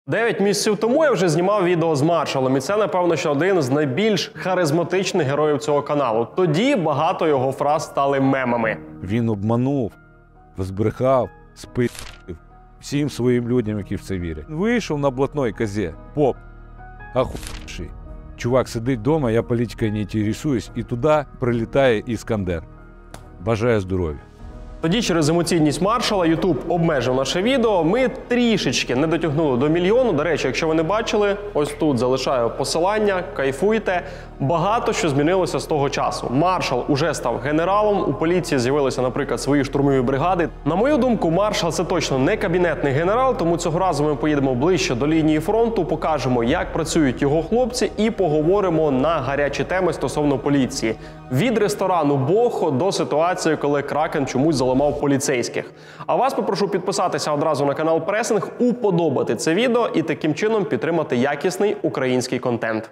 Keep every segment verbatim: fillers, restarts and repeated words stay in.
Дев'ять місяців тому я вже знімав відео з маршалом, і це, напевно, що один з найбільш харизматичних героїв цього каналу. Тоді багато його фраз стали мемами. Він обманув, збрехав, спив всім своїм людям, які в це вірять. Вийшов на блатной козі, поп, ахуєвший. Чувак сидить вдома, я політикою не інтересуюсь, і туди прилітає Іскандер. Бажаю здоров'я. Тоді через емоційність маршала YouTube обмежив наше відео. Ми трішечки не дотягнули до мільйону. До речі, якщо ви не бачили, ось тут залишаю посилання, кайфуйте. Багато що змінилося з того часу. Маршал уже став генералом, у поліції з'явилися, наприклад, свої штурмові бригади. На мою думку, маршал – це точно не кабінетний генерал, тому цього разу ми поїдемо ближче до лінії фронту, покажемо, як працюють його хлопці, і поговоримо на гарячі теми стосовно поліції. Від ресторану Бохо до ситуації, коли Кракен чомусь заламав поліцейських. А вас попрошу підписатися одразу на канал Пресинг, уподобати це відео і таким чином підтримати якісний український контент.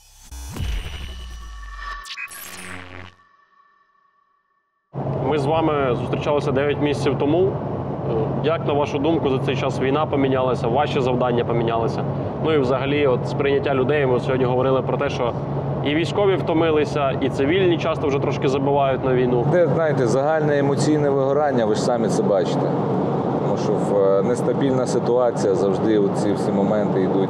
Ми з вами зустрічалися дев'ять місяців тому. Як, на вашу думку, за цей час війна помінялася, ваші завдання помінялися? Ну і взагалі, от сприйняття людей, ми сьогодні говорили про те, що і військові втомилися, і цивільні часто вже трошки забувають на війну. Де, знаєте, загальне емоційне вигорання, ви ж самі це бачите. Тому що в нестабільна ситуація, завжди ці всі моменти йдуть.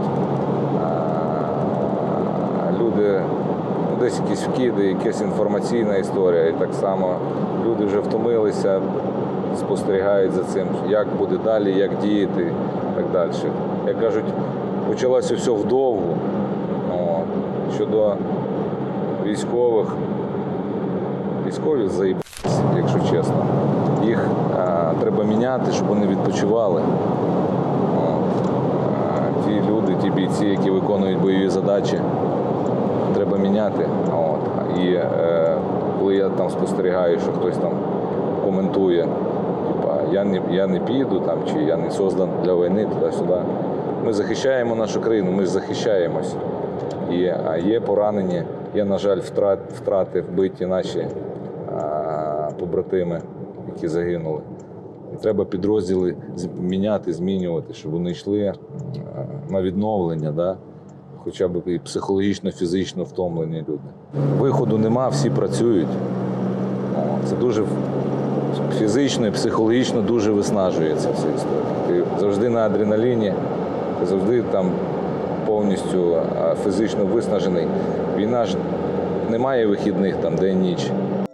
Люди, ну, десь якісь вкиди, якась інформаційна історія. І так само люди вже втомилися, спостерігають за цим, як буде далі, як діяти і так далі. Як кажуть, почалося все вдовгу. От. Щодо військових, військові заїбались, якщо чесно. Їх а, треба міняти, щоб вони відпочивали. От. А, ті люди, ті бійці, які виконують бойові задачі, треба міняти. От. І е, коли я там спостерігаю, що хтось там коментує, типа, я не, я не піду, там, чи я не создан для війни, туди-сюди. Ми захищаємо нашу країну, ми ж захищаємось. І, а є поранені, є, на жаль, втрат, втрати, вбиті наші а, побратими, які загинули. І треба підрозділи міняти, змінювати, щоб вони йшли а, на відновлення, да? Хоча б і психологічно, фізично втомлені люди. Виходу нема, всі працюють. О, це дуже фізично і психологічно дуже виснажує ця вся історія. Ти завжди на адреналіні, ти завжди там повністю фізично виснажений. Війна ж не має вихідних там день-ніч.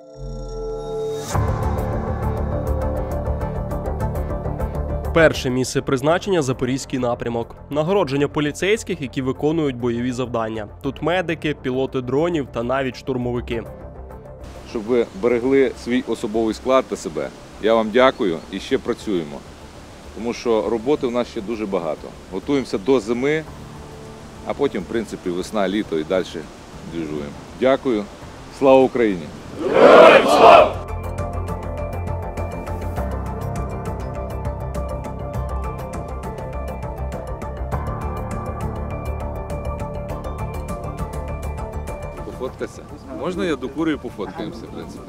Перше місце призначення – Запорізький напрямок. Нагородження поліцейських, які виконують бойові завдання. Тут медики, пілоти дронів та навіть штурмовики. Щоб ви берегли свій особовий склад та себе, я вам дякую і ще працюємо. Тому що роботи в нас ще дуже багато. Готуємося до зими, а потім, в принципі, весна, літо і далі двіжуємо. Дякую. Слава Україні! Героям слава! Пофоткатися? Можна я докурю і пофоткаємося, в принципі?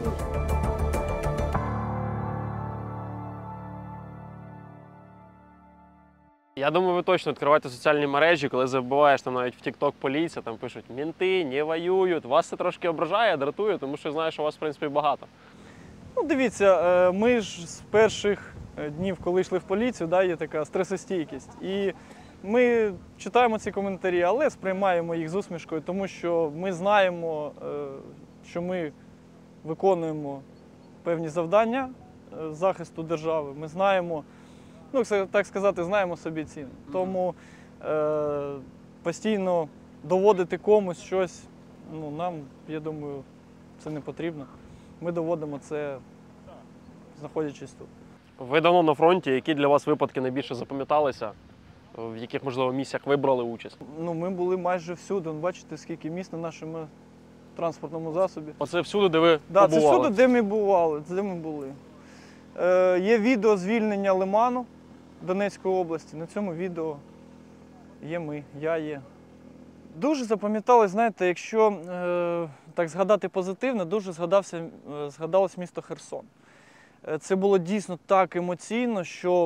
Я думаю, ви точно відкриваєте соціальні мережі, коли забуваєш, там навіть в TikTok поліція, там пишуть «Мінти не воюють». Вас це трошки ображає, дратує, тому що знаю, що у вас, в принципі, багато. Ну, дивіться, ми ж з перших днів, коли йшли в поліцію, да, є така стресостійкість. І ми читаємо ці коментарі, але сприймаємо їх з усмішкою, тому що ми знаємо, що ми виконуємо певні завдання захисту держави. Ми знаємо, ну, так сказати, знаємо собі ціну. Тому е, постійно доводити комусь щось, ну, нам, я думаю, це не потрібно. Ми доводимо це, знаходячись тут. Ви давно на фронті. Які для вас випадки найбільше запам'яталися? В яких, можливо, місіях ви брали участь? Ну, ми були майже всюди. Бачите, скільки місць на нашому транспортному засобі. Оце всюди, де ви да, побували? Так, це всюди, де ми бували, де ми були. Е, є відео звільнення Лиману Донецької області. На цьому відео є ми, я є. Дуже запам'яталось, знаєте, якщо е, так згадати позитивно, дуже згадався, е, згадалось місто Херсон. Е, це було дійсно так емоційно, що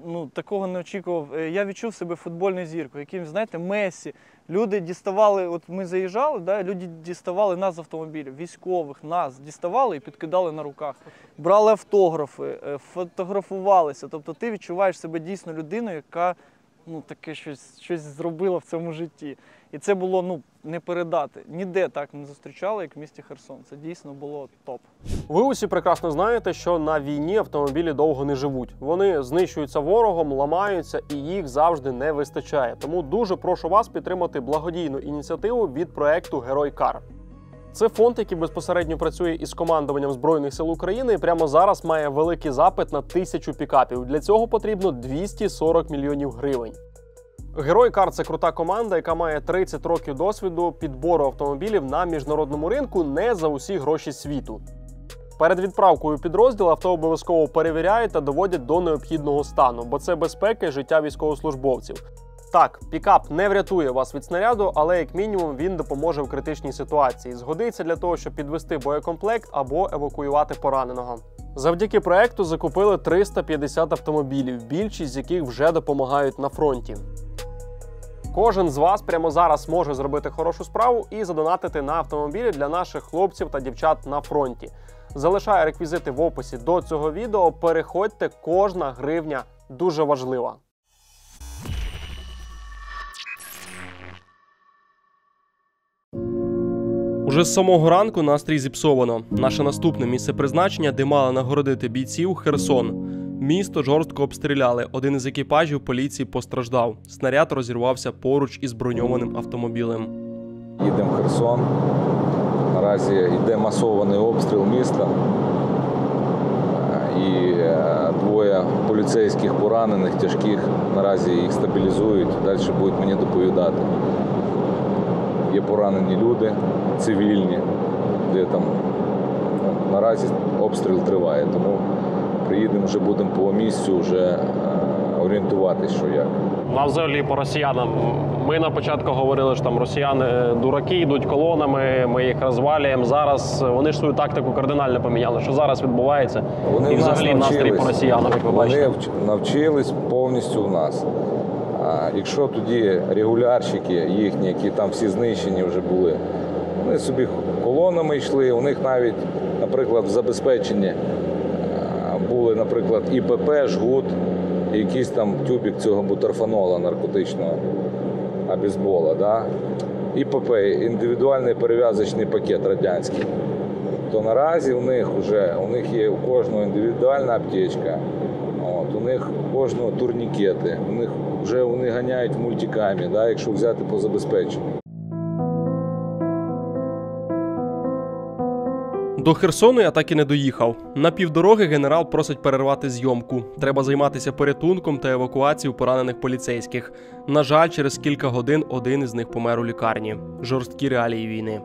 ну, такого не очікував. Е, Я відчув себе футбольною зіркою, яким, знаєте, Мессі. Люди діставали, от ми заїжджали, да, люди діставали нас з автомобілів, військових, нас діставали і підкидали на руках. Брали автографи, е, фотографувалися. Тобто ти відчуваєш себе дійсно людиною, яка ну, таке щось, щось зробила в цьому житті. І це було ну, не передати. Ніде так не зустрічали, як в місті Херсон. Це дійсно було топ. Ви усі прекрасно знаєте, що на війні автомобілі довго не живуть. Вони знищуються ворогом, ламаються і їх завжди не вистачає. Тому дуже прошу вас підтримати благодійну ініціативу від проекту «Герой Кар». Це фонд, який безпосередньо працює із командуванням Збройних сил України і прямо зараз має великий запит на тисячу пікапів. Для цього потрібно двісті сорок мільйонів гривень. «Герой Кар» – це крута команда, яка має тридцять років досвіду підбору автомобілів на міжнародному ринку не за усі гроші світу. Перед відправкою у підрозділ авто обов'язково перевіряють та доводять до необхідного стану, бо це безпека і життя військовослужбовців. Так, пікап не врятує вас від снаряду, але як мінімум він допоможе в критичній ситуації. Згодиться для того, щоб підвести боєкомплект або евакуювати пораненого. Завдяки проекту закупили триста п'ятдесят автомобілів, більшість з яких вже допомагають на фронті. Кожен з вас прямо зараз може зробити хорошу справу і задонатити на автомобілі для наших хлопців та дівчат на фронті. Залишаю реквізити в описі до цього відео. Переходьте, кожна гривня дуже важлива. Уже з самого ранку настрій зіпсовано. Наше наступне місце призначення, де мали нагородити бійців – Херсон. Місто жорстко обстріляли. Один із екіпажів поліції постраждав. Снаряд розірвався поруч із броньованим автомобілем. Їдемо в Херсон. Наразі йде масований обстріл міста. І двоє поліцейських поранених, тяжких. Наразі їх стабілізують. Далі будуть мені доповідати. Є поранені люди, цивільні, де там наразі обстріл триває. Тому приїдемо, вже будемо по місцю вже орієнтуватись, що як. А взагалі по росіянам. Ми на початку говорили, що там росіяни дураки, йдуть колонами, ми їх розвалюємо. Зараз вони ж свою тактику кардинально поміняли. Що зараз відбувається? Вони і взагалі настрій по росіянам, як ви бачите. Вони навчились повністю в нас. А якщо тоді регулярщики їхні, які там всі знищені вже були, вони собі колонами йшли, у них навіть, наприклад, в забезпеченні були, наприклад, і пе пе, жгут, і якийсь там тюбик цього бутерфанола наркотичного, абізбола, да? і пе пе, індивідуальний перев'язочний пакет радянський. То наразі у них вже, у них є у кожного індивідуальна аптечка, от, у них у кожного турнікети, у них вже вони ганяють в мультикамі, да, якщо взяти по забезпеченню. До Херсону я так і не доїхав. На півдороги генерал просить перервати зйомку. Треба займатися порятунком та евакуацією поранених поліцейських. На жаль, через кілька годин один із них помер у лікарні. Жорсткі реалії війни.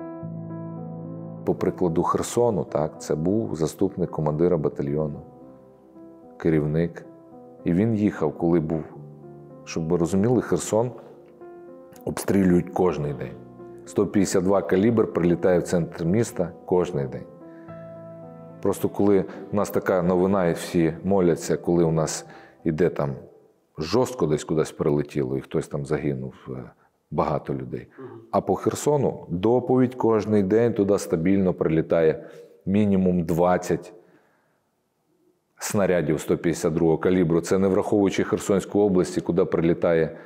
По прикладу Херсону, так, це був заступник командира батальйону, керівник. І він їхав, коли був. Щоб ви розуміли, Херсон обстрілюють кожний день. сто п'ятдесят два калібр прилітає в центр міста кожен день. Просто коли у нас така новина, і всі моляться, коли у нас іде там жорстко десь кудись прилетіло, і хтось там загинув, багато людей. А по Херсону доповідь кожен день, туди стабільно прилітає мінімум двадцять снарядів сто п'ятдесят другого калібру. Це не враховуючи Херсонську область, куди прилітає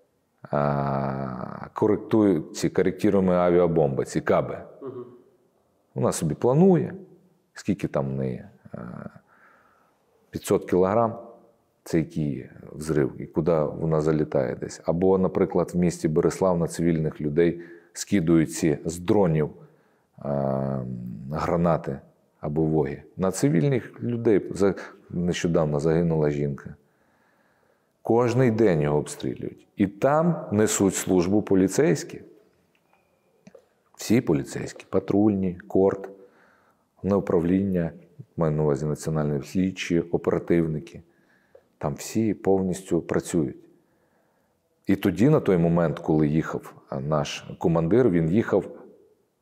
а, коректують ці коректуємо авіабомби, ці каби. Угу. Вона собі планує, скільки там в неї, п'ятсот кілограм, це який взрив, і куди вона залітає десь. Або, наприклад, в місті Береслав на цивільних людей скидують ці з дронів а, гранати або воги. На цивільних людей нещодавно загинула жінка. Кожний день його обстрілюють. І там несуть службу поліцейські. Всі поліцейські, патрульні, корт, головне управління, маю на увазі національні слідчі, оперативники. Там всі повністю працюють. І тоді, на той момент, коли їхав наш командир, він їхав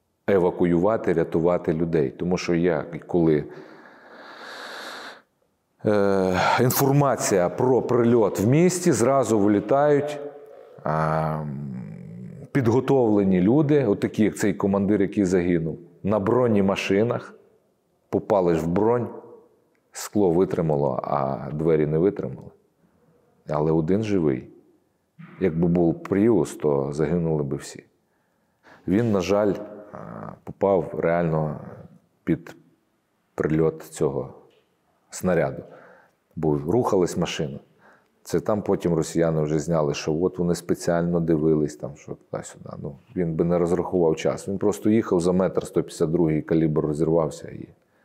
евакуювати, рятувати людей. Тому що я, коли е, інформація про прильот в місті, зразу вилітають е, підготовлені люди, отакі, як цей командир, який загинув, на бронемашинах, попали ж в бронь, скло витримало, а двері не витримали. Але один живий. Якби був Пріус, то загинули би всі. Він, на жаль, попав реально під прильот цього снаряду, бо рухалась машина. Це там потім росіяни вже зняли, що от вони спеціально дивились, там, що туди-сюди. Ну, він би не розрахував час. Він просто їхав за метр, сто п'ятдесят другий калібр розірвався. І...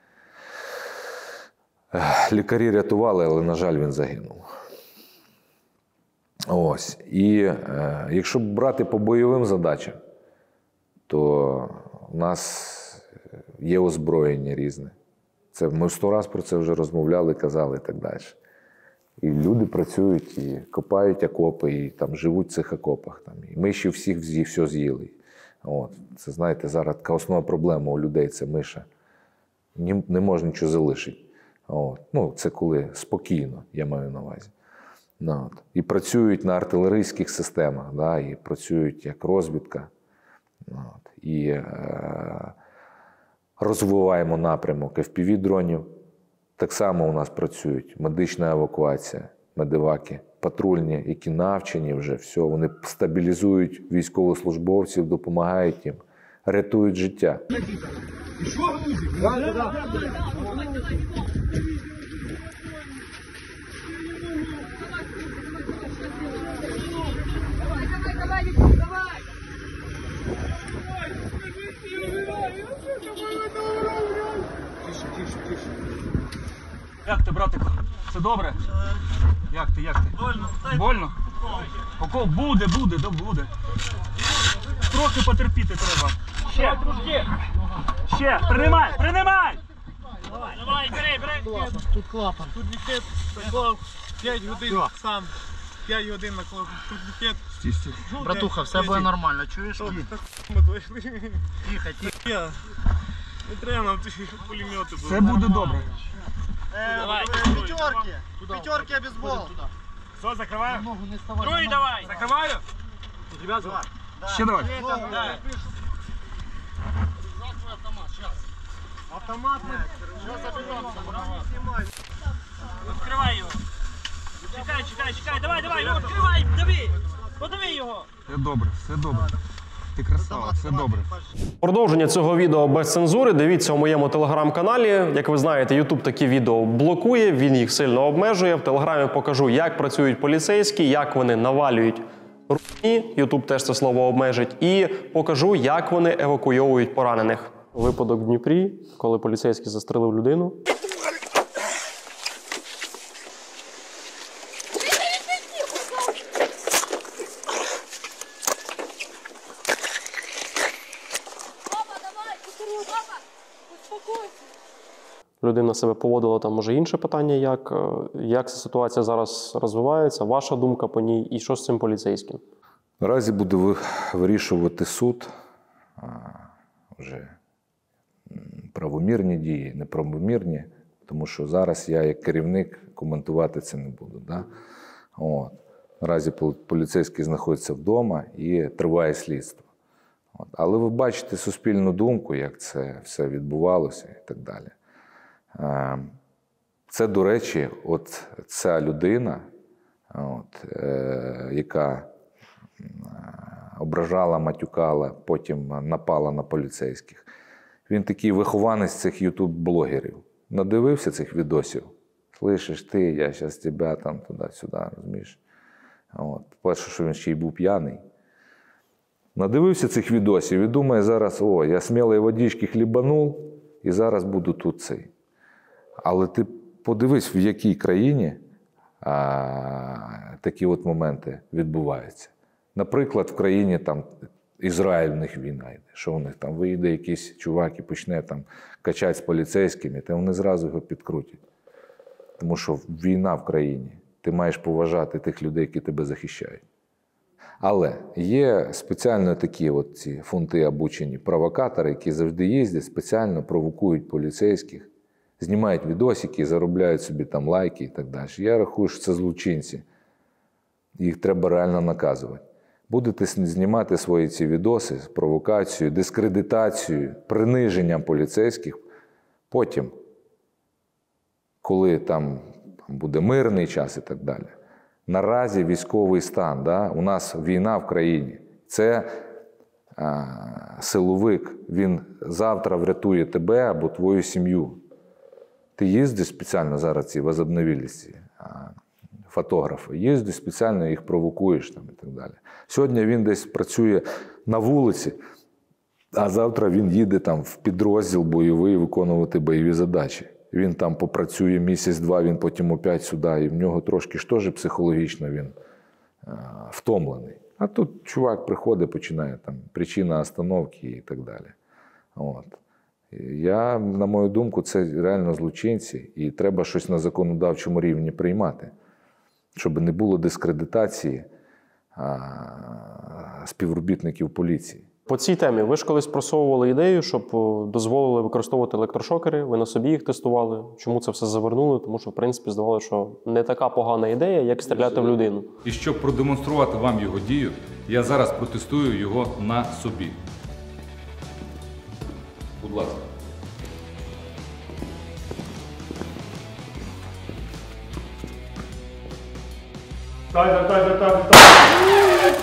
Лікарі рятували, але, на жаль, він загинув. Ось. І е, якщо брати по бойовим задачам, то у нас є озброєння різне. Це, ми сто раз про це вже розмовляли, казали і так далі. І люди працюють, і копають окопи, і там живуть в цих окопах. Там. І миші всіх все з'їли. От. Це, знаєте, зараз така основна проблема у людей – це миша. Не, не можна нічого залишити. От. Ну, це коли спокійно, я маю на увазі. Ну, от. І працюють на артилерійських системах, да, і працюють як розвідка. От. І е, розвиваємо напрямок еф пі ві-дронів. Так само у нас працюють медична евакуація, медеваки, патрульні, які навчені вже, все, вони стабілізують військовослужбовців, допомагають їм, рятують життя. Як ти, братику? Все добре? Як ти, як ти? Больно. Больно? Поко буде, буде, да буде. Трохи потерпіти треба. Ще, трошки. Ще, принимай, принимай! Давай, бери, бери. Тут клапан. Тут ліхет наклав п'ять годин сам. п'ять годин наклав. Тут ліхет. Братуха, все буде нормально, чуєш? Тихо, тихо. Не треба нам ті пулемети. Все буде добре. Давай. П'ятерки. П'ятерки обезбол. Все, закриваю? Ногу не ставай. Другий давай. Закриваю? Ще давай. Автомат ми. Відкривай його. Чекай, чекай, чекай. Давай, давай, відкривай, дави. Подиви його. Все добре, все добре. Ти красава, все добре. Продовження цього відео без цензури дивіться у моєму телеграм-каналі. Як ви знаєте, YouTube такі відео блокує, він їх сильно обмежує. В телеграмі покажу, як працюють поліцейські, як вони навалюють руйні, YouTube теж це слово обмежить, і покажу, як вони евакуйовують поранених. Випадок в Дніпрі, коли поліцейський застрелив людину. Людина себе поводила, там може інше питання, як, як ця ситуація зараз розвивається, ваша думка по ній і що з цим поліцейським? Наразі буде вирішувати суд а, вже правомірні дії, неправомірні, тому що зараз я як керівник коментувати це не буду. Да? От. Наразі поліцейський знаходиться вдома і триває слідство. От. Але ви бачите суспільну думку, як це все відбувалося і так далі. Це, до речі, от ця людина, от, е, яка ображала, матюкала, потім напала на поліцейських. Він такий вихованець цих ютуб-блогерів. Надивився цих відосів. Слышиш ти, я зараз тебе там туди-сюди, розумієш? От. Перше, що він ще й був п'яний. Надивився цих відосів і думає зараз, о, я смілої водички хлібанув і зараз буду тут цей. Але ти подивись, в якій країні а, такі от моменти відбуваються. Наприклад, в країні там Ізраїль в них війна йде. Що у них там? Вийде якийсь чувак і почне там качати з поліцейськими, то вони зразу його підкрутять. Тому що війна в країні. Ти маєш поважати тих людей, які тебе захищають. Але є спеціально такі от ці фунти обучені провокатори, які завжди їздять, спеціально провокують поліцейських Знімають відосики, заробляють собі там лайки і так далі. Я рахую, що це злочинці. Їх треба реально наказувати. Будете знімати свої ці відоси з провокацією, дискредитацією, приниженням поліцейських. Потім, коли там буде мирний час і так далі. Наразі військовий стан, да? У нас війна в країні. Це а, силовик, він завтра врятує тебе або твою сім'ю. Ти їздиш спеціально зараз, ці возобновились фотографи, їздиш спеціально, їх провокуєш там, і так далі. Сьогодні він десь працює на вулиці, а завтра він їде там в підрозділ бойовий виконувати бойові задачі. Він там попрацює місяць-два, він потім опять сюди, і в нього трошки ж теж психологічно він а, втомлений. А тут чувак приходить, починає там причина остановки і так далі. От. Я, на мою думку, це реально злочинці, і треба щось на законодавчому рівні приймати, щоб не було дискредитації а, співробітників поліції. По цій темі ви ж колись просовували ідею, щоб дозволили використовувати електрошокери, ви на собі їх тестували. Чому це все завернули? Тому що, в принципі, здавалося, що не така погана ідея, як стріляти в людину. І щоб продемонструвати вам його дію, я зараз протестую його на собі. Будь ласка. Так, так, так, так, так.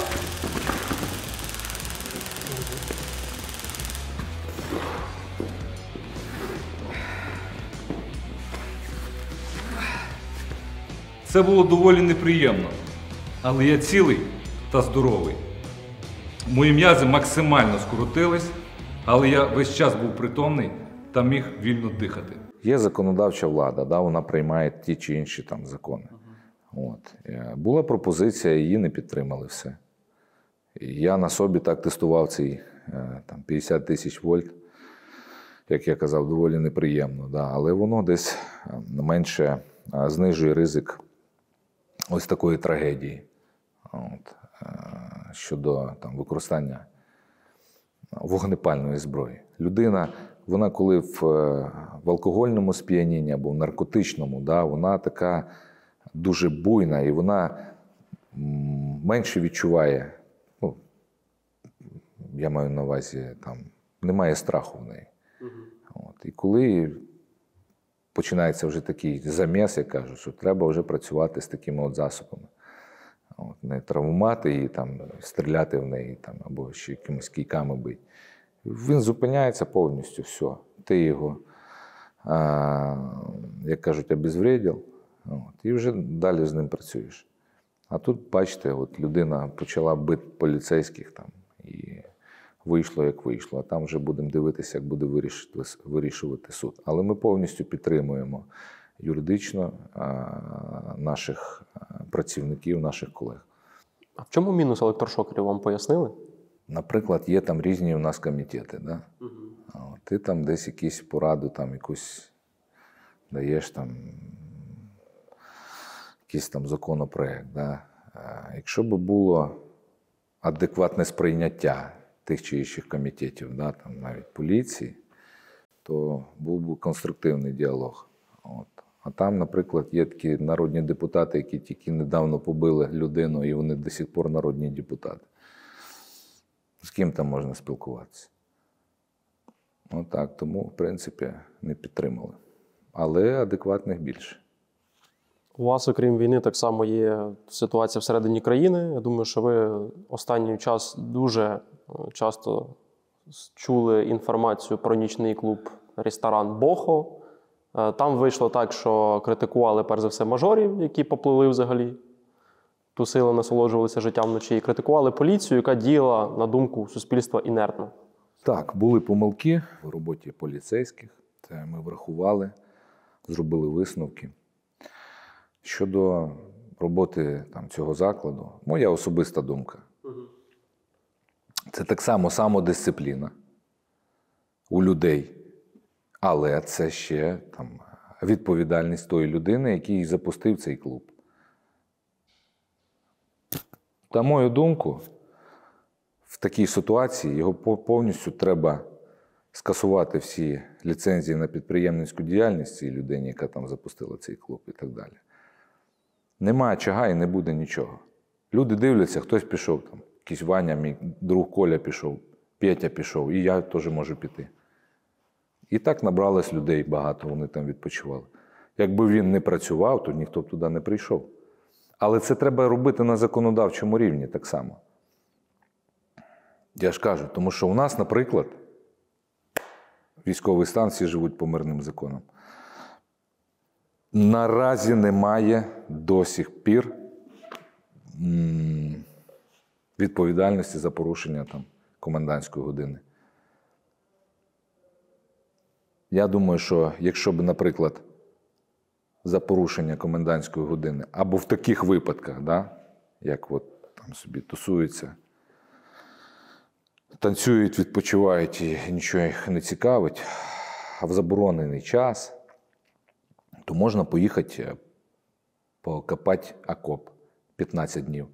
Це було доволі неприємно, але я цілий та здоровий. Мої м'язи максимально скоротились, але я весь час був притомний та міг вільно дихати. Є законодавча влада, да, вона приймає ті чи інші там закони. От. Була пропозиція, її не підтримали все. І я на собі так тестував цей там, п'ятдесят тисяч вольт, як я казав, доволі неприємно. Да. Але воно десь менше знижує ризик ось такої трагедії. От. Щодо там, використання вогнепальної зброї. Людина, вона коли в, в алкогольному сп'янінні або в наркотичному, да, вона така дуже буйна і вона менше відчуває, ну, я маю на увазі, там, немає страху в неї. Угу. От. І коли починається вже такий заміс, я кажу, що треба вже працювати з такими от засобами. От, не травмувати її, там, стріляти в неї там, або ще якимись кійками бити. Він зупиняється повністю, все. Ти його, а, як кажуть, обезвредив, от, і вже далі з ним працюєш. А тут, бачите, от людина почала бити поліцейських там, і вийшло, як вийшло. А там вже будемо дивитися, як буде вирішувати, вирішувати суд. Але ми повністю підтримуємо юридично а, наших працівників, наших колег. А в чому мінус електрошокерів, вам пояснили? Наприклад, є там різні у нас комітети. Да? Угу. Ти там десь якусь пораду, там якусь даєш там якийсь там законопроект. Да? Якщо б було адекватне сприйняття тих чи інших комітетів, да, там навіть поліції, то був би конструктивний діалог. От. А там, наприклад, є такі народні депутати, які тільки недавно побили людину, і вони до сих пор народні депутати. З ким там можна спілкуватися? Отак, тому, в принципі, не підтримали. Але адекватних більше. У вас, окрім війни, так само є ситуація всередині країни. Я думаю, що ви останній час дуже часто чули інформацію про нічний клуб «Ресторан Бохо». Там вийшло так, що критикували, перш за все, мажорів, які поплили взагалі, тусили, насолоджувалися життям вночі, і критикували поліцію, яка діяла, на думку суспільства, інертно. Так, були помилки в роботі поліцейських. Це ми врахували, зробили висновки. Щодо роботи там, цього закладу, моя особиста думка. Угу. Це так само самодисципліна у людей. Але це ще там, відповідальність тої людини, який запустив цей клуб. На мою думку, в такій ситуації його повністю треба скасувати всі ліцензії на підприємницьку діяльність цій людині, яка там запустила цей клуб і так далі. Немає чага і не буде нічого. Люди дивляться, хтось пішов, там, якийсь Ваня, мій друг Коля пішов, Петя пішов, і я теж можу піти. І так набралось людей багато, вони там відпочивали. Якби він не працював, то ніхто б туди не прийшов. Але це треба робити на законодавчому рівні так само. Я ж кажу, тому що у нас, наприклад, військовий стан, всі живуть по мирним законам. Наразі немає до сих пір відповідальності за порушення там, комендантської години. Я думаю, що якщо б, наприклад, за порушення комендантської години, або в таких випадках, да, як от там собі тусуються, танцюють, відпочивають і нічого їх не цікавить, а в заборонений час, то можна поїхати покопати окоп п'ятнадцять днів.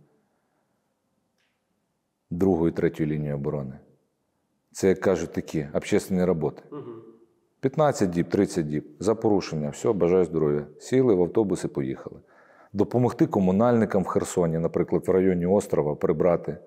Другу і третю лінію оборони. Це, як кажуть, такі общественні роботи. п'ятнадцять діб, тридцять діб. За порушення. Все, бажаю здоров'я. Сіли в автобус і поїхали. Допомогти комунальникам в Херсоні, наприклад, в районі острова, прибрати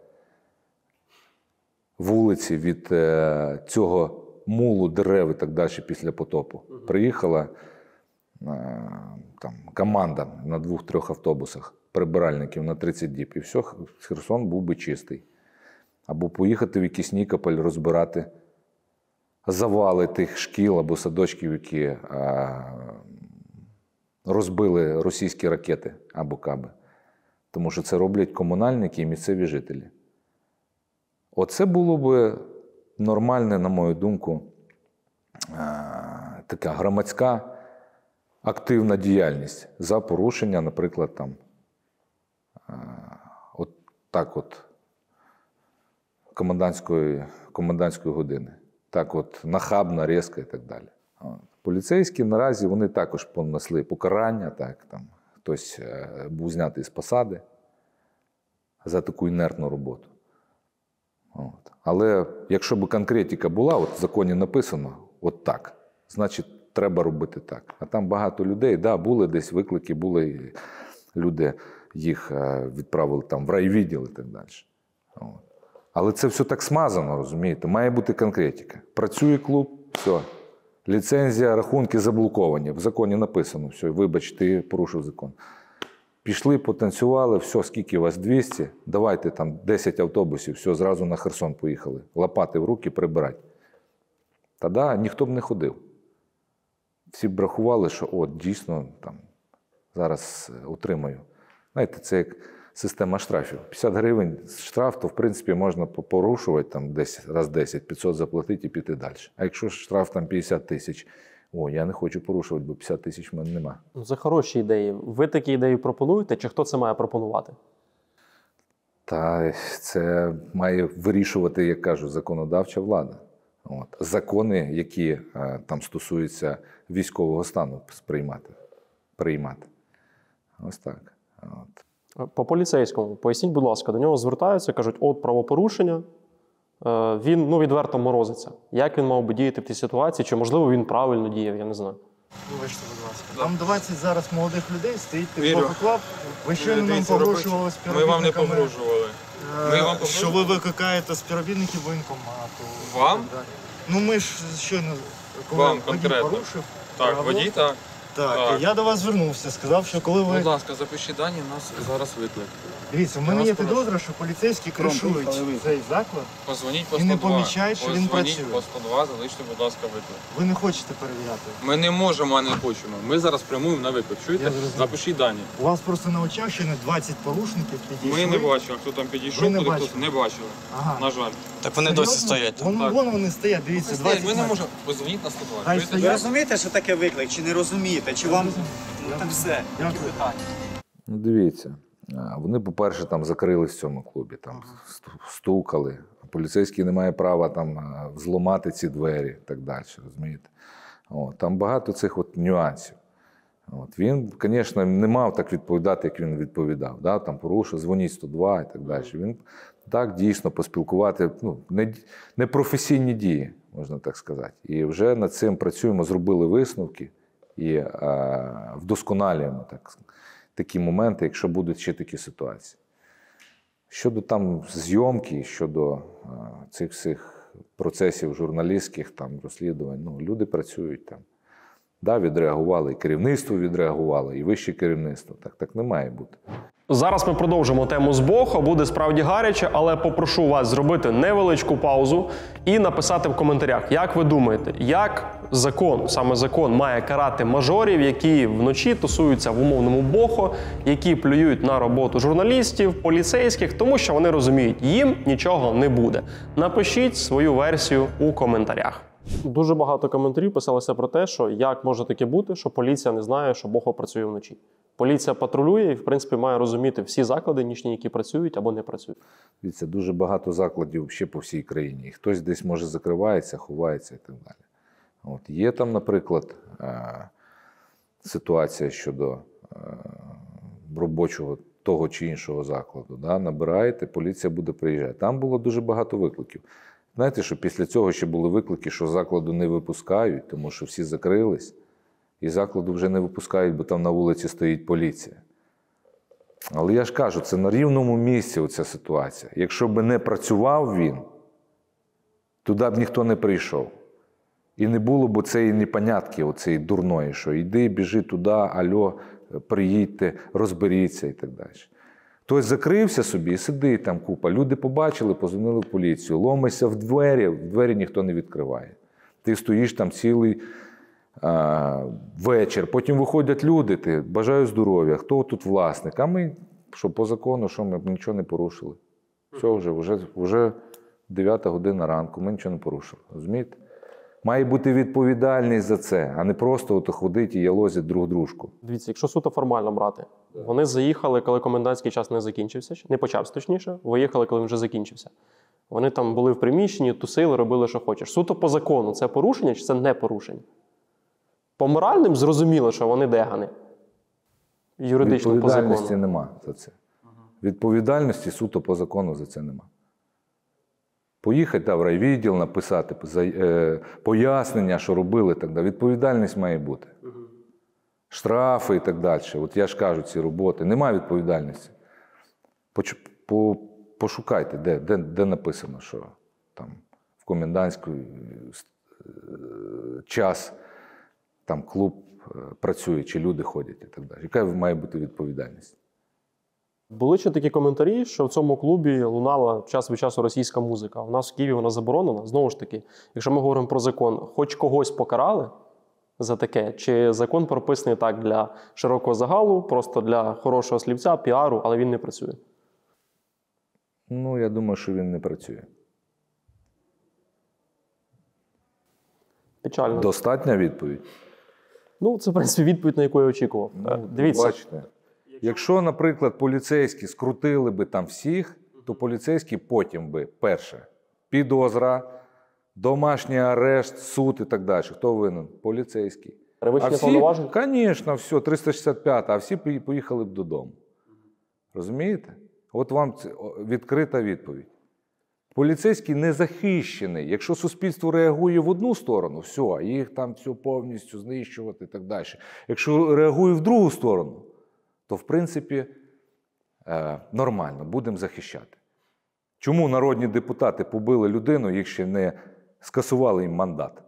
вулиці від е, цього мулу дерев і так далі після потопу. Угу. Приїхала е, там, команда на двох-трьох автобусах, прибиральників на тридцять діб. І все, Херсон був би чистий. Або поїхати в якийсь Нікополь розбирати завали тих шкіл або садочків, які а, розбили російські ракети або каби. Тому що це роблять комунальники і місцеві жителі. Оце було б нормальне, на мою думку, а, така громадська активна діяльність за порушення, наприклад, там, а, от так от, комендантської, комендантської години. Так от, нахабно, різко і так далі. От. Поліцейські наразі, вони також понесли покарання, так, там, хтось е, був знятий з посади за таку інертну роботу. От. Але якщо б конкретика була, от в законі написано, от так, значить, треба робити так. А там багато людей, да, були десь виклики, були люди, їх е, відправили там в райвідділ і так далі. От. Але це все так смазано, розумієте? Має бути конкретика. Працює клуб, все. Ліцензія, рахунки заблоковані. В законі написано, все, вибач, ти порушив закон. Пішли, потанцювали, все, скільки у вас, двісті, давайте там десять автобусів, все, зразу на Херсон поїхали. Лопати в руки, прибирати. Тоді ніхто б не ходив. Всі б рахували, що от, дійсно, там, зараз утримаю. Знаєте, це як система штрафів. п'ятдесят гривень штраф, то, в принципі, можна порушувати там десь раз десять, п'ятсот заплатити і піти далі. А якщо штраф там п'ятдесят тисяч, о, я не хочу порушувати, бо п'ятдесят тисяч в мене нема. Це хороші ідеї. Ви такі ідеї пропонуєте, чи хто це має пропонувати? Та це має вирішувати, як кажуть, законодавча влада. От. Закони, які а, там стосуються військового стану, сприймати, приймати. Ось так. От. По поліцейському, поясніть, будь ласка, до нього звертаються, кажуть, от правопорушення, він, ну, відверто морозиться. Як він мав би діяти в тій ситуації, чи, можливо, він правильно діяв, я не знаю. Вибачте, будь ласка. Там двадцять зараз молодих людей стоїть під Вірю. блококлад. Ви щойно нам Дивіться, погрожували Ми співробітниками. вам не погрожували. е, Ми вам Що ви викликаєте співробітників воєнкомату. Вам? і так далі. Ну ми ж щойно, коли Вам водій конкретно. порушив Так, правила, водій, так. Так, Так. я до вас звернувся, сказав, що коли ви... Будь ласка, запишіть дані, у нас зараз виклик. Дивіться, в Я мене вас є прошу. підозра, що поліцейські кришують поїхали ви. цей заклад. Позвоніть по І не сто два. помічають, що він Позвоніть працює. по сто два, залиште, будь ласка, виклик. Ви не хочете перевіряти. Ми не можемо, а не хочемо. Ми зараз прямуємо на виклик. Чуєте? Я зрозумів. Запишіть дані. У вас просто на очах ще не двадцять порушників підійшли. Ми не бачили, хто там Ви підійшов, не куди хтось бачили? не бачили. Ага. На жаль. Так вони досі стоять. Вон, Так. вон вони стоять, дивіться, двадцять Ми не метрів. можемо. Позвоніть на сто два. Хай Чуєте? стоять. Ви розумієте, що таке виклик, чи не розумієте? Чи вам ну, так все? Дякую. Ну, дивіться, а, вони, по-перше, там закрились в цьому клубі, там сту- стукали. Поліцейський не має права там а, взломати ці двері і так далі, розумієте? От, там багато цих от нюансів. От, він, звісно, не мав так відповідати, як він відповідав. Да? Там порушив, дзвоніть сто два і так далі. Він так, дійсно, поспілкувати, ну, не, не професійні дії, можна так сказати. І вже над цим працюємо, зробили висновки і а, вдосконалюємо так, такі моменти, якщо будуть ще такі ситуації. Щодо там зйомки, щодо а, цих всіх процесів журналістських, там, розслідувань, ну, люди працюють там. Да, відреагували, і керівництво відреагувало, і вище керівництво. Так, так не має бути. Зараз ми продовжимо тему з Бохо, буде справді гаряче, але попрошу вас зробити невеличку паузу і написати в коментарях, як ви думаєте, як закон, саме закон, має карати мажорів, які вночі тусуються в умовному Бохо, які плюють на роботу журналістів, поліцейських, тому що вони розуміють, їм нічого не буде. Напишіть свою версію у коментарях. Дуже багато коментарів писалося про те, що як може таке бути, що поліція не знає, що Бохо працює вночі. Поліція патрулює і, в принципі, має розуміти всі заклади нічні, які працюють або не працюють. Дивіться, дуже багато закладів ще по всій країні. І хтось десь, може, закривається, ховається і так далі. От. Є там, наприклад, ситуація щодо робочого того чи іншого закладу. Да? Набираєте, поліція буде приїжджати. Там було дуже багато викликів. Знаєте, що після цього ще були виклики, що закладу не випускають, тому що всі закрились. І закладу вже не випускають, бо там на вулиці стоїть поліція. Але я ж кажу, це на рівному місці оця ситуація. Якщо б не працював він, туди б ніхто не прийшов. І не було б цієї непонятки, оцієї дурної, що йди, біжи туди, альо, приїдьте, розберіться і так далі. Хтось закрився собі і сидить там купа. Люди побачили, позвонили в поліцію, ломишся в двері, в двері ніхто не відкриває. Ти стоїш там цілий а, вечір, потім виходять люди, ти бажаю здоров'я, хто тут власник? А ми, що по закону, що ми нічого не порушили. Все, вже, вже, вже дев'ята година ранку, ми нічого не порушили. Розумієте? Має бути відповідальність за це, а не просто от ходить і ялозять друг дружку. Дивіться, якщо суто формально брати, вони заїхали, коли комендантський час не закінчився, не почався точніше, виїхали, коли він вже закінчився. Вони там були в приміщенні, тусили, робили, що хочеш. Суто по закону це порушення чи це не порушення? По моральним зрозуміло, що вони дегани. Юридично по закону. Відповідальності нема за це. Відповідальності суто по закону за це нема. Поїхати та, в райвідділ, написати е, пояснення, що робили, так далі. Відповідальність має бути. Угу. Штрафи і так далі. От я ж кажу, ці роботи. Немає відповідальності. Поч, по, пошукайте, де, де, де написано, що там в комендантський час там клуб працює, чи люди ходять і так далі. Яка має бути відповідальність? Були ще такі коментарі, що в цьому клубі лунала час від часу російська музика. У нас в Києві вона заборонена. Знову ж таки, якщо ми говоримо про закон, хоч когось покарали за таке, чи закон прописаний так для широкого загалу, просто для хорошого слівця, піару, але він не працює? Ну, я думаю, що він не працює. Печально. Достатня відповідь? Ну, це, в принципі, відповідь, на яку я очікував. Ну, дивіться. Бачите. Якщо, наприклад, поліцейські скрутили би там всіх, то поліцейські потім би, перше, підозра, домашній арешт, суд і так далі. Хто винен? Поліцейський. Перевищення повноважень? Звісно, все, триста шістдесят п'ята, а всі поїхали б додому. Розумієте? От вам відкрита відповідь. Поліцейський не захищений. Якщо суспільство реагує в одну сторону, все, їх там все повністю знищувати і так далі. Якщо реагує в другу сторону, то, в принципі, нормально, будемо захищати. Чому народні депутати побили людину, їх ще не скасували їм мандат?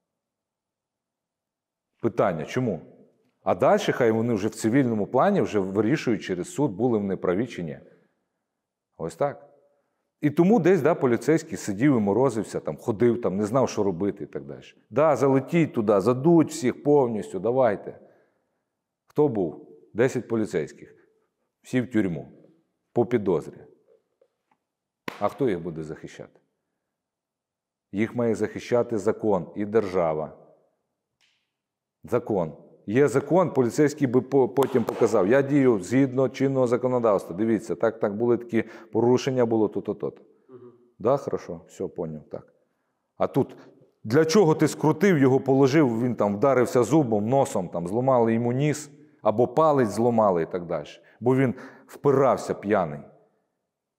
Питання, чому? А далі хай вони вже в цивільному плані вже вирішують через суд, були вони праві чи ні. Ось так. І тому десь, да, поліцейський сидів і морозився, там, ходив, там, не знав, що робити і так далі. Да, залетіть туди, задуть всіх повністю, давайте. Хто був? Десять поліцейських. Всі в тюрму. По підозрі. А хто їх буде захищати? Їх має захищати закон і держава. Закон. Є закон, поліцейський би потім показав. Я дію згідно чинного законодавства. Дивіться, так, так, були такі порушення, було то-то, то-то. Угу. Да, хорошо, все, поняв, так. А тут, для чого ти скрутив, його положив, він там вдарився зубом, носом, там, зламали йому ніс, або палець зламали і так далі. Бо він впирався п'яний.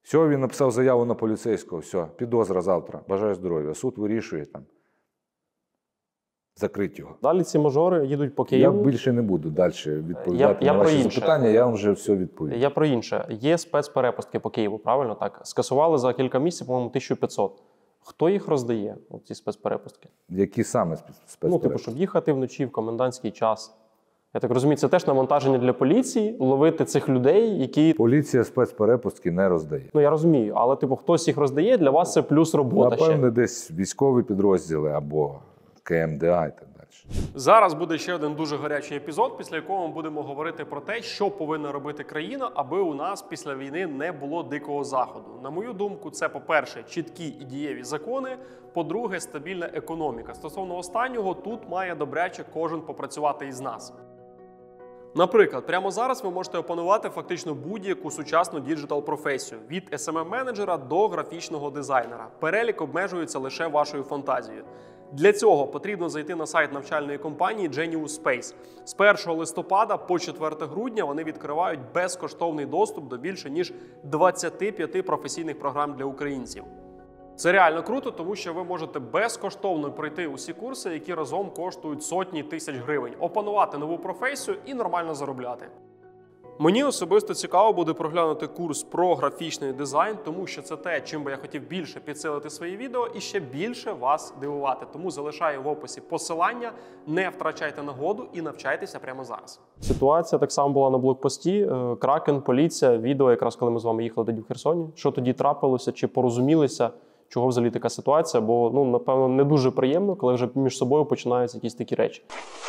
Все, він написав заяву на поліцейського, все, підозра завтра, бажаю здоров'я. Суд вирішує там. Закрить його. Далі ці мажори їдуть по Я Києву. більше не буду далі відповідати Я- я на про ваші інше. запитання, я вам вже все відповів. Я про інше. Є спецперепустки по Києву, правильно так? Скасували за кілька місяців, по-моєму, тисячу п'ятсот. Хто їх роздає, ці спецперепустки? Які саме спецперепустки? Ну, типу, щоб їхати вночі в комендантський час. Я так розумію, це теж навантаження для поліції, ловити цих людей, які... Поліція спецперепустки не роздає. Ну, я розумію, але, типу, хтось їх роздає, для вас це плюс робота ще. Напевне, десь військові підрозділи або ка ем де а і так далі. Зараз буде ще один дуже гарячий епізод, після якого ми будемо говорити про те, що повинна робити країна, аби у нас після війни не було дикого заходу. На мою думку, це, по-перше, чіткі і дієві закони, по-друге, стабільна економіка. Стосовно останнього, тут має добряче кожен попрацювати із нас. Наприклад, прямо зараз ви можете опанувати фактично будь-яку сучасну діджитал-професію – від ес ем ем-менеджера до графічного дизайнера. Перелік обмежується лише вашою фантазією. Для цього потрібно зайти на сайт навчальної компанії Genius Space. З першого листопада по четверте грудня вони відкривають безкоштовний доступ до більше ніж двадцяти п'яти професійних програм для українців. Це реально круто, тому що ви можете безкоштовно пройти усі курси, які разом коштують сотні тисяч гривень, опанувати нову професію і нормально заробляти. Мені особисто цікаво буде проглянути курс про графічний дизайн, тому що це те, чим би я хотів більше підсилити свої відео і ще більше вас дивувати. Тому залишаю в описі посилання, не втрачайте нагоду і навчайтеся прямо зараз. Ситуація так само була на блокпості. Кракен, поліція, відео якраз коли ми з вами їхали тоді в Херсоні. Що тоді трапилося, чи порозумілися, чого взагалі така ситуація, бо, ну, напевно, не дуже приємно, коли вже між собою починаються якісь такі речі.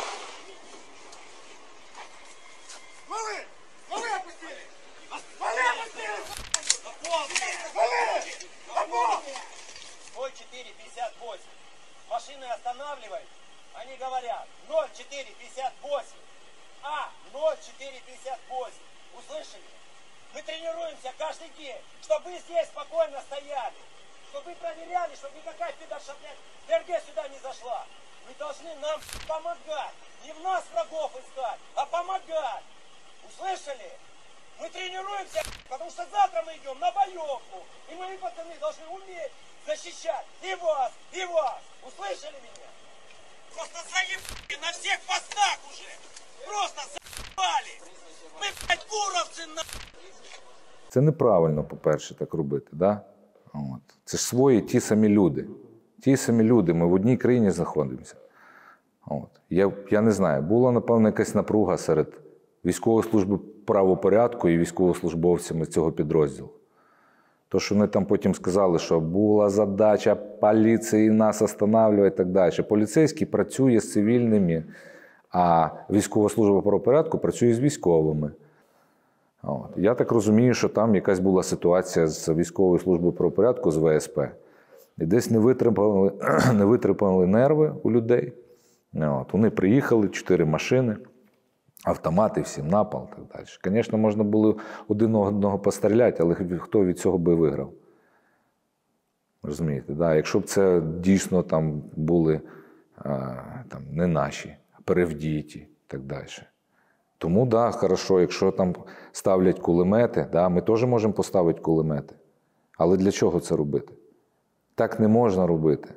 ноль четыре пятьдесят восемь. Машины останавливают. Они говорят ноль четыре пятьдесят восемь. А, ноль четыре пятьдесят восемь. Услышали? Мы тренируемся каждый день, чтобы вы здесь спокойно стояли. Чтобы вы проверяли, чтобы никакая пидорша, блядь, ДРГ сюда не зашла. Вы должны нам помогать. Не в нас врагов искать, а помогать. Услышали? Мы тренируемся, потому что завтра мы идем на боевку. И мои пацаны должны уметь защищать и вас, и вас. Услышали меня? Просто заебали на всех постах уже. Просто заебали. Мы, блядь, буровцы, на... Це неправильно, по-перше, так робити, да? От. Це ж свої ті самі люди. Ті самі люди, ми в одній країні знаходимося. От. Я, я не знаю, була, напевно, якась напруга серед військової служби правопорядку і військовослужбовцями цього підрозділу. То, що вони там потім сказали, що була задача поліції нас останавливати і так далі. Поліцейський працює з цивільними, а військова служба правопорядку працює з військовими. От. Я так розумію, що там якась була ситуація з військовою службою правопорядку, з ве ес пе. І десь не витримали, не витримали нерви у людей. От. Вони приїхали, чотири машини, автомати, всім напал і так далі. Звісно, можна було один одного постріляти, але хто від цього би виграв? Розумієте, да? Якщо б це дійсно там були а, там, не наші, а перевдіті і так далі. Тому, так, да, хорошо, якщо там ставлять кулемети, да, ми теж можемо поставити кулемети. Але для чого це робити? Так не можна робити.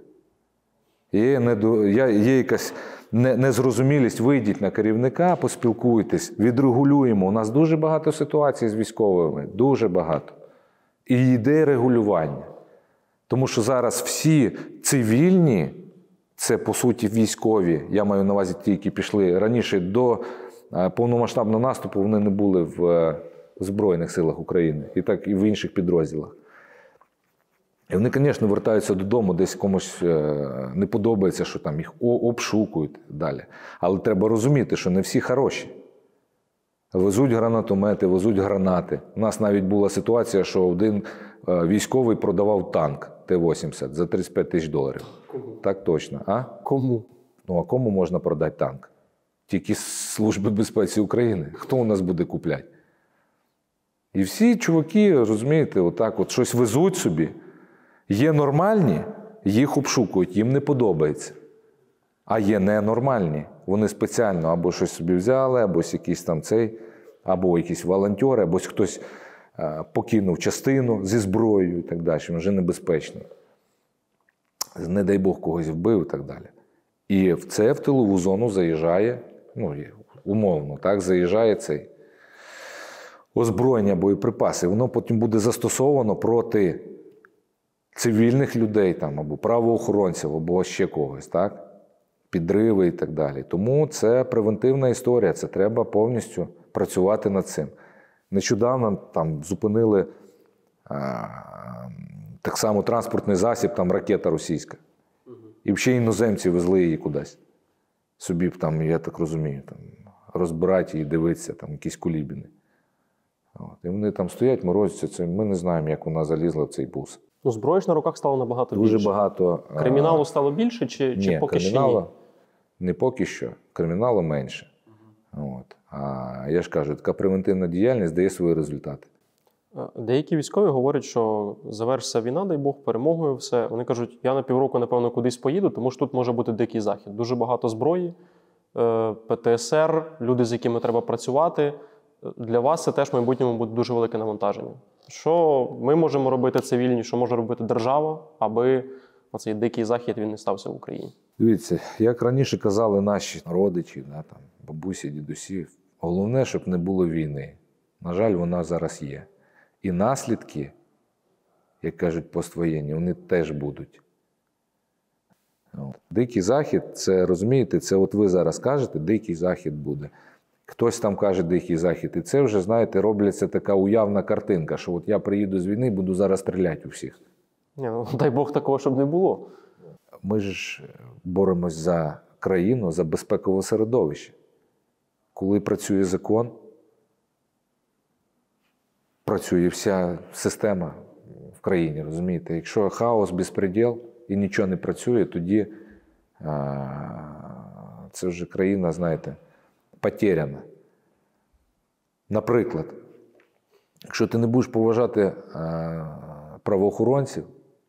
Є, недо... Є якась незрозумілість, вийдіть на керівника, поспілкуйтесь, відрегулюємо. У нас дуже багато ситуацій з військовими, дуже багато. І йде регулювання. Тому що зараз всі цивільні, це по суті військові, я маю на увазі ті, які пішли раніше до повномасштабного наступу, вони не були в Збройних силах України, і так і в інших підрозділах. І вони, звісно, вертаються додому, десь комусь не подобається, що там їх обшукують далі. Але треба розуміти, що не всі хороші. Везуть гранатомети, везуть гранати. У нас навіть була ситуація, що один військовий продавав танк Т вісімдесят за тридцять п'ять тисяч доларів. Кому? Так точно. А? Кому? Ну, а кому можна продати танк? Тільки Служби безпеки України. Хто у нас буде купляти? І всі чуваки, розумієте, отак от щось везуть собі. Є нормальні, їх обшукують, їм не подобається. А є ненормальні. Вони спеціально або щось собі взяли, або якийсь там цей, або якісь волонтери, або хтось покинув частину зі зброєю і так далі, він вже небезпечний. Не дай Бог когось вбив і так далі. І в це в тилову зону заїжджає, ну, умовно, так, заїжджає цей озброєння, боєприпаси. Воно потім буде застосовано проти цивільних людей там, або правоохоронців, або ще когось, так? Підриви і так далі. Тому це превентивна історія, це треба повністю працювати над цим. Нещодавно там зупинили а, так само транспортний засіб, там ракета російська. І ще іноземці везли її кудись. Собі там, я так розумію, там, розбирати і дивитися, там якісь кулібіни. От. І вони там стоять, морозяться, це, ми не знаємо, як вона залізла в цей бус. Ну, зброї ж на руках стало набагато Дуже більше. багато. Криміналу стало більше чи, ні, чи поки криміналу, що ні? Не поки що. Криміналу менше. От. А я ж кажу, така превентивна діяльність дає свої результати. Деякі військові говорять, що завершиться війна, дай Бог, перемогою все. Вони кажуть, я на півроку, напевно, кудись поїду, тому що тут може бути дикий захід. Дуже багато зброї, Пе Те Ес Ер, люди, з якими треба працювати. Для вас це теж в майбутньому буде дуже велике навантаження. Що ми можемо робити цивільні, що може робити держава, аби оцей дикий захід він не стався в Україні? Дивіться, як раніше казали наші родичі, да, там, бабусі, дідусі, головне, щоб не було війни. На жаль, вона зараз є. І наслідки, як кажуть поствоєнні, вони теж будуть. Дикий захід, це, розумієте, це от ви зараз кажете, дикий захід буде. Хтось там каже дикий захід. І це вже, знаєте, робляться така уявна картинка, що от я приїду з війни і буду зараз стріляти у всіх. Ні, ну, дай Бог такого, щоб не було. Ми ж боремось за країну, за безпекове середовище. Коли працює закон, працює вся система в країні, розумієте? Якщо хаос, безпреділ і нічого не працює, тоді а, це вже країна, знаєте, потеряна. Наприклад, якщо ти не будеш поважати а, правоохоронців,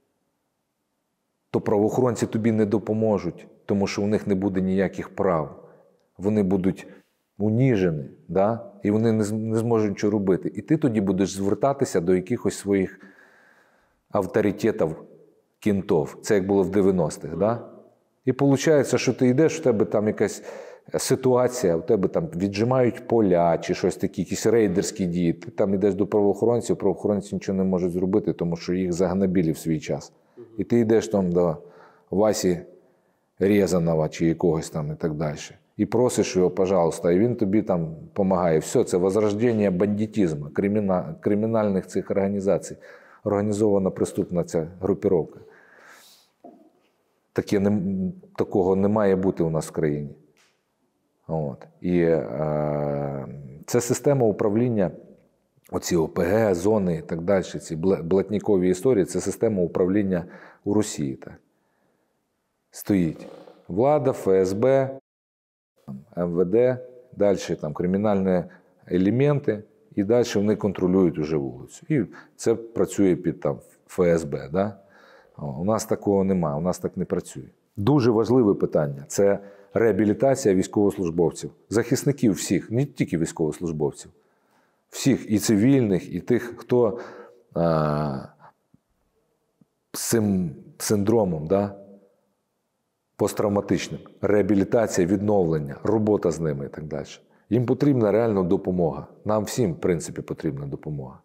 то правоохоронці тобі не допоможуть, тому що у них не буде ніяких прав. Вони будуть уніжені, да? І вони не, не зможуть нічого робити. І ти тоді будеш звертатися до якихось своїх авторитетів, кінтов. Це як було в дев'яностих. Да? І виходить, що ти йдеш, у тебе там якась ситуація, у тебе там віджимають поля чи щось таке, якісь рейдерські дії. Ти там йдеш до правоохоронців, правоохоронці нічого не можуть зробити, тому що їх загнобили в свій час. І ти йдеш там до Васі Рєзанова чи якогось там і так далі. І просиш його, пожалуйста, і він тобі там допомагає. Все, це возрождення бандитизму, криміна, кримінальних цих організацій. Організована преступна ця групіровка. Таке не, такого не має бути у нас в країні. От. І е, це система управління, оці О Пе Ге, зони і так далі, ці блатнікові історії, це система управління у Росії. Так. Стоїть влада, Ф С Б, Ем Ве Де, далі там кримінальні елементи, і далі вони контролюють уже вулицю. І це працює під там Ф С Б. Да? У нас такого немає, у нас так не працює. Дуже важливе питання – це реабілітація військовослужбовців, захисників всіх, не тільки військовослужбовців, всіх, і цивільних, і тих, хто а, з цим синдромом, да? посттравматичним. Реабілітація, відновлення, робота з ними і так далі. Їм потрібна реально допомога. Нам всім, в принципі, потрібна допомога.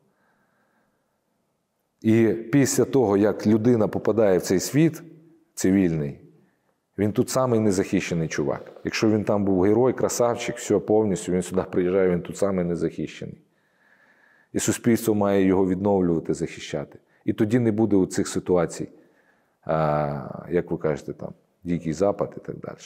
І після того, як людина попадає в цей світ цивільний, він тут самий незахищений чувак. Якщо він там був герой, красавчик, все повністю, він сюди приїжджає, він тут самий незахищений. І суспільство має його відновлювати, захищати. І тоді не буде у цих ситуацій, а, як ви кажете, там, Дикий Запад і так далі.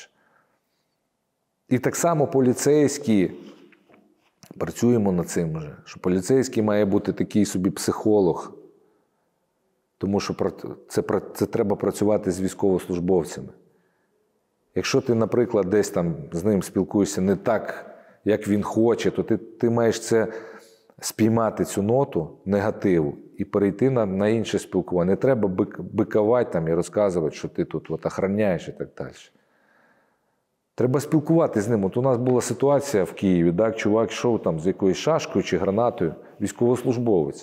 І так само поліцейські, працюємо над цим вже, що поліцейський має бути такий собі психолог, тому що це, це треба працювати з військовослужбовцями. Якщо ти, наприклад, десь там з ним спілкуєшся не так, як він хоче, то ти, ти маєш це спіймати, цю ноту негативу, і перейти на, на інше спілкування. Не треба бик, бикувати там і розказувати, що ти тут от охороняєш і так далі. Треба спілкуватися з ним. От у нас була ситуація в Києві, так, чувак йшов там з якоюсь шашкою чи гранатою, військовослужбовець.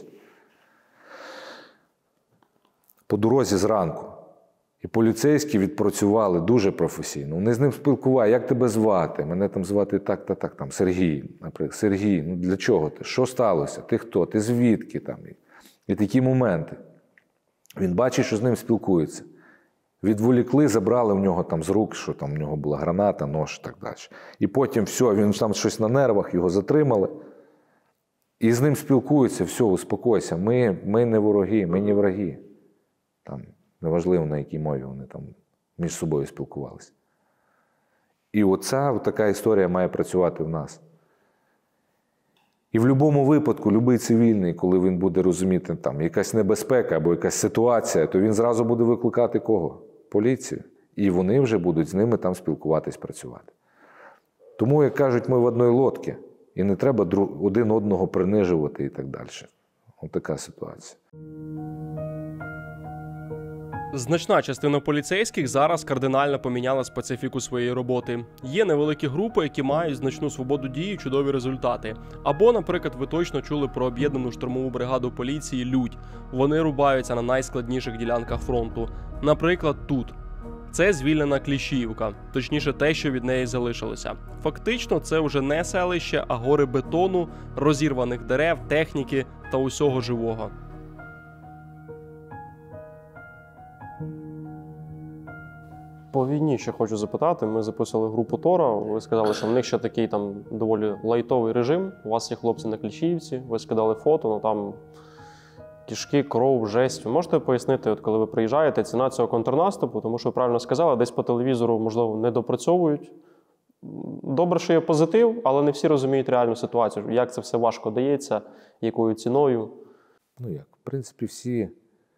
По дорозі зранку. І поліцейські відпрацювали дуже професійно. Вони з ним спілкували, як тебе звати? Мене там звати так, так, так, там, Сергій, наприклад. Сергій, ну для чого ти? Що сталося? Ти хто? Ти звідки? Там? І такі моменти. Він бачить, що з ним спілкуються. Відволікли, забрали в нього там з рук, що там в нього була граната, нож і так далі. І потім все, він там щось на нервах, його затримали. І з ним спілкуються, все, успокойся. Ми, ми не вороги, ми не враги. Там, неважливо, на якій мові вони там між собою спілкувалися. І оця така історія має працювати в нас. І в будь-якому випадку, будь-який цивільний, коли він буде розуміти, там якась небезпека або якась ситуація, то він зразу буде викликати кого? Поліцію. І вони вже будуть з ними там спілкуватись, працювати. Тому, як кажуть, ми в одній лодці. І не треба один одного принижувати і так далі. Ось така ситуація. Значна частина поліцейських зараз кардинально поміняла специфіку своєї роботи. Є невеликі групи, які мають значну свободу дії і чудові результати. Або, наприклад, ви точно чули про об'єднану штурмову бригаду поліції «Людь». Вони рубаються на найскладніших ділянках фронту. Наприклад, тут. Це звільнена Кліщіївка, точніше те, що від неї залишилося. Фактично, це вже не селище, а гори бетону, розірваних дерев, техніки та усього живого. По війні ще хочу запитати. Ми записали групу Тора. Ви сказали, що в них ще такий там доволі лайтовий режим. У вас є хлопці на Кліщіївці, ви скидали фото, ну там кишки, кров, жесть. Ви можете пояснити, от коли ви приїжджаєте, ціна цього контрнаступу? Тому що ви правильно сказали, десь по телевізору, можливо, не допрацьовують. Добре, що є позитив, але не всі розуміють реальну ситуацію. Як це все важко дається, якою ціною? Ну як, в принципі, всі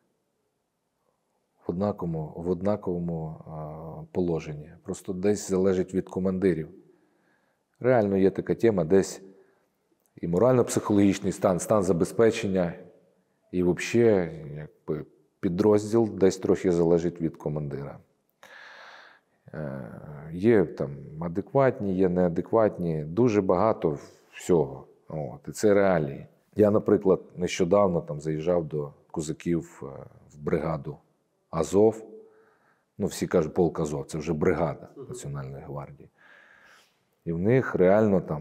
в однаковому, в однаковому а, положенні. Просто десь залежить від командирів. Реально є така тема, десь і морально-психологічний стан, стан забезпечення, і взагалі якби, підрозділ десь трохи залежить від командира. Е, є там адекватні, є неадекватні, дуже багато всього. От, і це реалії. Я, наприклад, нещодавно там заїжджав до козаків в бригаду Азов. Ну, всі кажуть, полк Азов, це вже бригада Національної гвардії. І в них реально там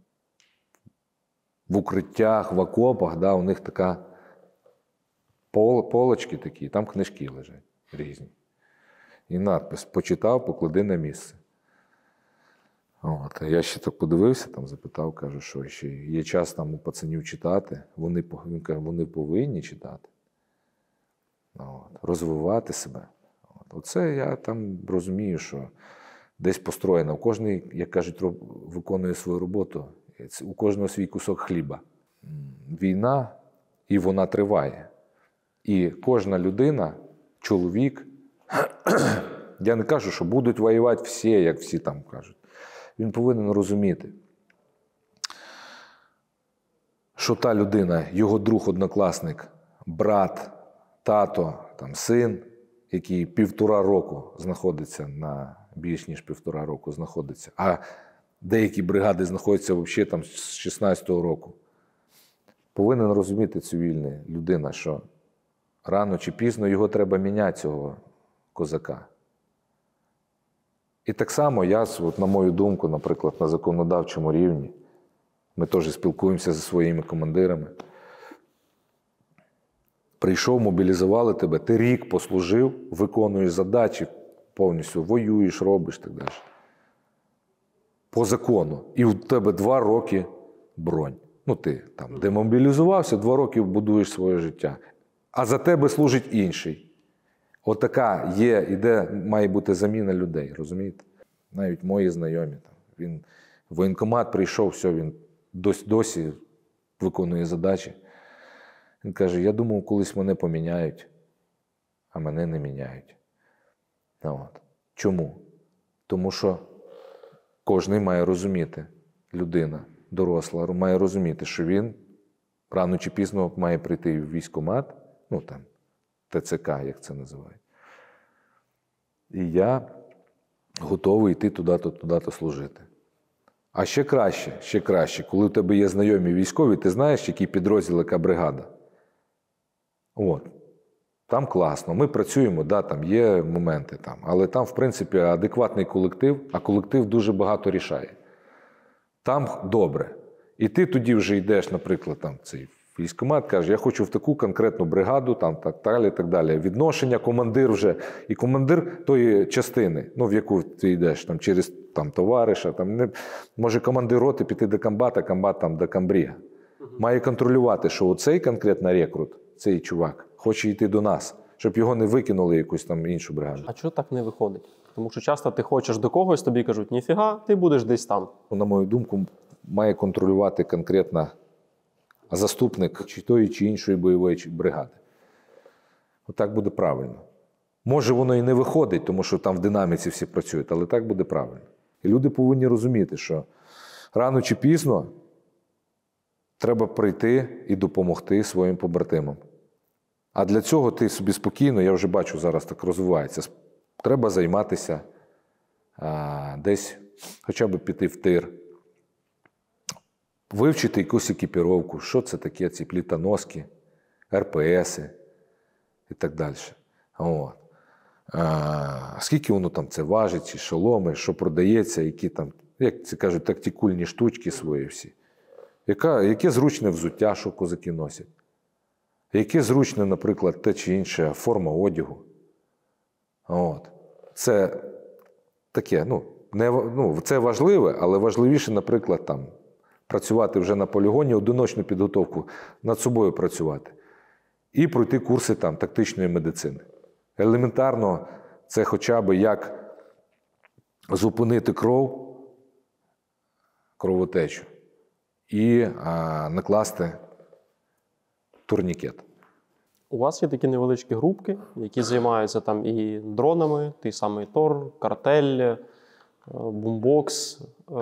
в укриттях, в окопах, да, у них така пол, полочки такі, там книжки лежать різні. І надпис «Почитав, поклади на місце». От. Я ще так подивився, там запитав, кажу, що ще є час там у пацанів читати. Вони, він каже, вони повинні читати. От. Розвивати себе. От. Оце я там розумію, що десь построєно. Кожний, як кажуть, виконує свою роботу. У кожного свій кусок хліба. Війна, і вона триває. І кожна людина, чоловік, я не кажу, що будуть воювати всі, як всі там кажуть. Він повинен розуміти, що та людина, його друг, однокласник, брат, тато, там, син, який півтора року знаходиться на, більш ніж півтора року знаходиться, а деякі бригади знаходяться взагалі там з шістнадцятого року. Повинен розуміти цивільна людина, що рано чи пізно його треба міняти, цього козака. І так само я, от, на мою думку, наприклад, на законодавчому рівні, ми теж спілкуємося зі своїми командирами. Прийшов, мобілізували тебе, ти рік послужив, виконуєш задачі, повністю воюєш, робиш і так далі. По закону. І у тебе два роки бронь. Ну, ти там демобілізувався, два роки будуєш своє життя. А за тебе служить інший. Отака є, іде, має бути заміна людей, розумієте? Навіть мої знайомі. Там, він в воєнкомат прийшов, все, він досі, досі виконує задачі. Він каже, я думав, колись мене поміняють, а мене не міняють. От. Чому? Тому що кожен має розуміти, людина, доросла, має розуміти, що він рано чи пізно має прийти в військкомат, ну там, ТЦК, як це називають. І я готовий йти туди-то, туди-то служити. А ще краще, ще краще, коли у тебе є знайомі військові, ти знаєш, який підрозділ, яка бригада. От. Там класно, ми працюємо, да, там є моменти, там, але там, в принципі, адекватний колектив, а колектив дуже багато рішає. Там добре. І ти тоді вже йдеш, наприклад, там, цей військкомат, каже, я хочу в таку конкретну бригаду, там, так далі, так далі. Відношення, командир вже, і командир тої частини, ну, в яку ти йдеш, там, через там, товариша, там, не, може командир роти піти до комбата, комбат там, до комбріга. Має контролювати, що оцей конкретно рекрут, цей чувак, хоче йти до нас, щоб його не викинули в якусь там іншу бригаду. А чого так не виходить? Тому що часто ти хочеш до когось, тобі кажуть, ніфіга, ти будеш десь там. На мою думку, має контролювати конкретно заступник чи тої, чи іншої бойової бригади. Отак буде правильно. Може, воно і не виходить, тому що там в динаміці всі працюють, але так буде правильно. І люди повинні розуміти, що рано чи пізно треба прийти і допомогти своїм побратимам. А для цього ти собі спокійно, я вже бачу, зараз так розвивається, треба займатися а, десь, хоча б піти в тир, вивчити якусь екіпіровку, що це таке, ці плітоноски, ер пе еси і так далі. От. А, скільки воно там це важить, ці шоломи, що продається, які там, як це кажуть, тактикульні штучки свої всі. Яка, яке зручне взуття, що козаки носять. Яке зручне, наприклад, те чи інше форма одягу. От. Це таке, ну, не, ну, це важливе, але важливіше, наприклад, там, працювати вже на полігоні, одиночну підготовку, над собою працювати. І пройти курси там, тактичної медицини. Елементарно, це хоча б як зупинити кров, кровотечу, і а, накласти турнікет. У вас є такі невеличкі групки, які займаються там і дронами, той самий Тор, Картель, Бумбокс.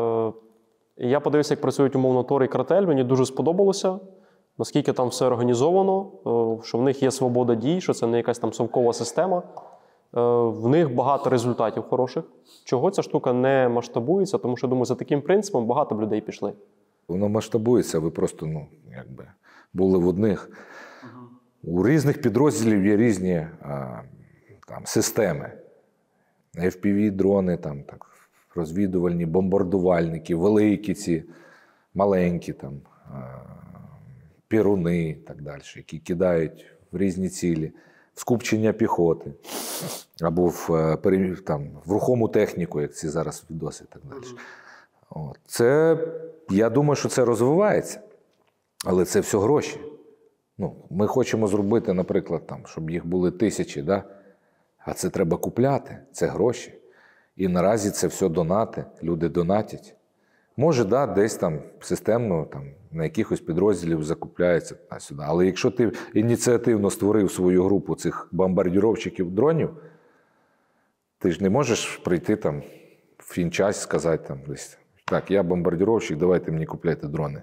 І я подивився, як працюють умовно Тор і Картель. Мені дуже сподобалося, наскільки там все організовано, що в них є свобода дій, що це не якась там совкова система. В них багато результатів хороших. Чого ця штука не масштабується? Тому що, думаю, за таким принципом багато б людей пішли. Воно масштабується, ви просто, ну, якби, були в одних. У різних підрозділів є різні а, там, системи. еф пі ві-дрони, там, так, розвідувальні, бомбардувальники, великі ці, маленькі, там, а, піруни і так далі, які кидають в різні цілі, в скупчення піхоти, або в, там, в рухому техніку, як ці зараз відоси і так далі. От. Це, я думаю, що це розвивається, але це все гроші. Ну, ми хочемо зробити, наприклад, там, щоб їх були тисячі, да? А це треба купляти, це гроші. І наразі це все донати, люди донатять. Може, да, десь там системно там, на якихось підрозділів закупляється сюди. Але якщо ти ініціативно створив свою групу цих бомбардіровщиків дронів, ти ж не можеш прийти там в фінчас і сказати там десь, так, я бомбардіровщик, давайте мені купляйте дрони.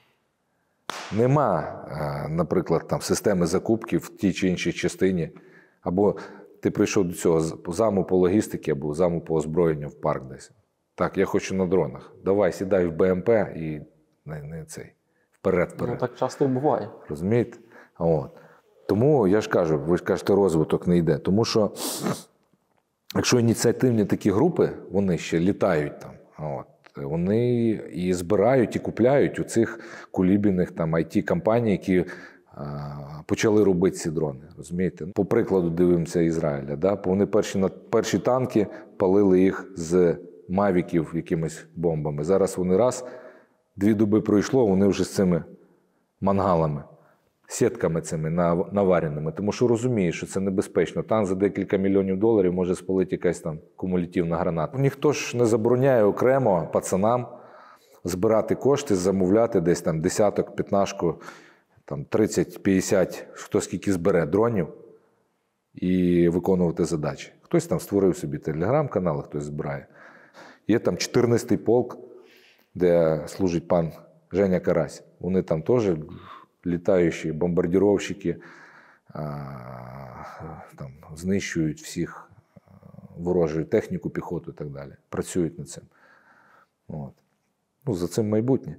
Нема, наприклад, там системи закупки в тій чи іншій частині. Або ти прийшов до цього заму по логістиці, або заму по озброєнню в парк десь. Так, я хочу на дронах. Давай, сідай в бе ем пе і не, не цей, вперед-вперед. Ну, так часто і буває. Розумієте? От. Тому, я ж кажу, ви ж кажете, розвиток не йде. Тому що, якщо ініціативні такі групи, вони ще літають там, от, вони і збирають, і купляють у цих кулібіних там ай ті-компаній, які а, почали робити ці дрони. Розумієте? По прикладу дивимося Ізраїля. Да? Вони перші, перші танки палили їх з мавіків якимись бомбами. Зараз вони раз, дві доби пройшло, вони вже з цими мангалами, сітками цими навареними. Тому що розумієш, що це небезпечно. Танк за декілька мільйонів доларів може спалити якась там кумулятивна граната. Ніхто ж не забороняє окремо пацанам збирати кошти, замовляти десь там десяток, п'ятнашку, там тридцять-п'ятдесят, хто скільки збере дронів і виконувати задачі. Хтось там створив собі телеграм-канал, хтось збирає. Є там чотирнадцятий полк, де служить пан Женя Карась. Вони там теж літаючі бомбардіровщики, там, знищують всіх ворожу техніку, піхоту і так далі. Працюють над цим. От. Ну, за цим майбутнє.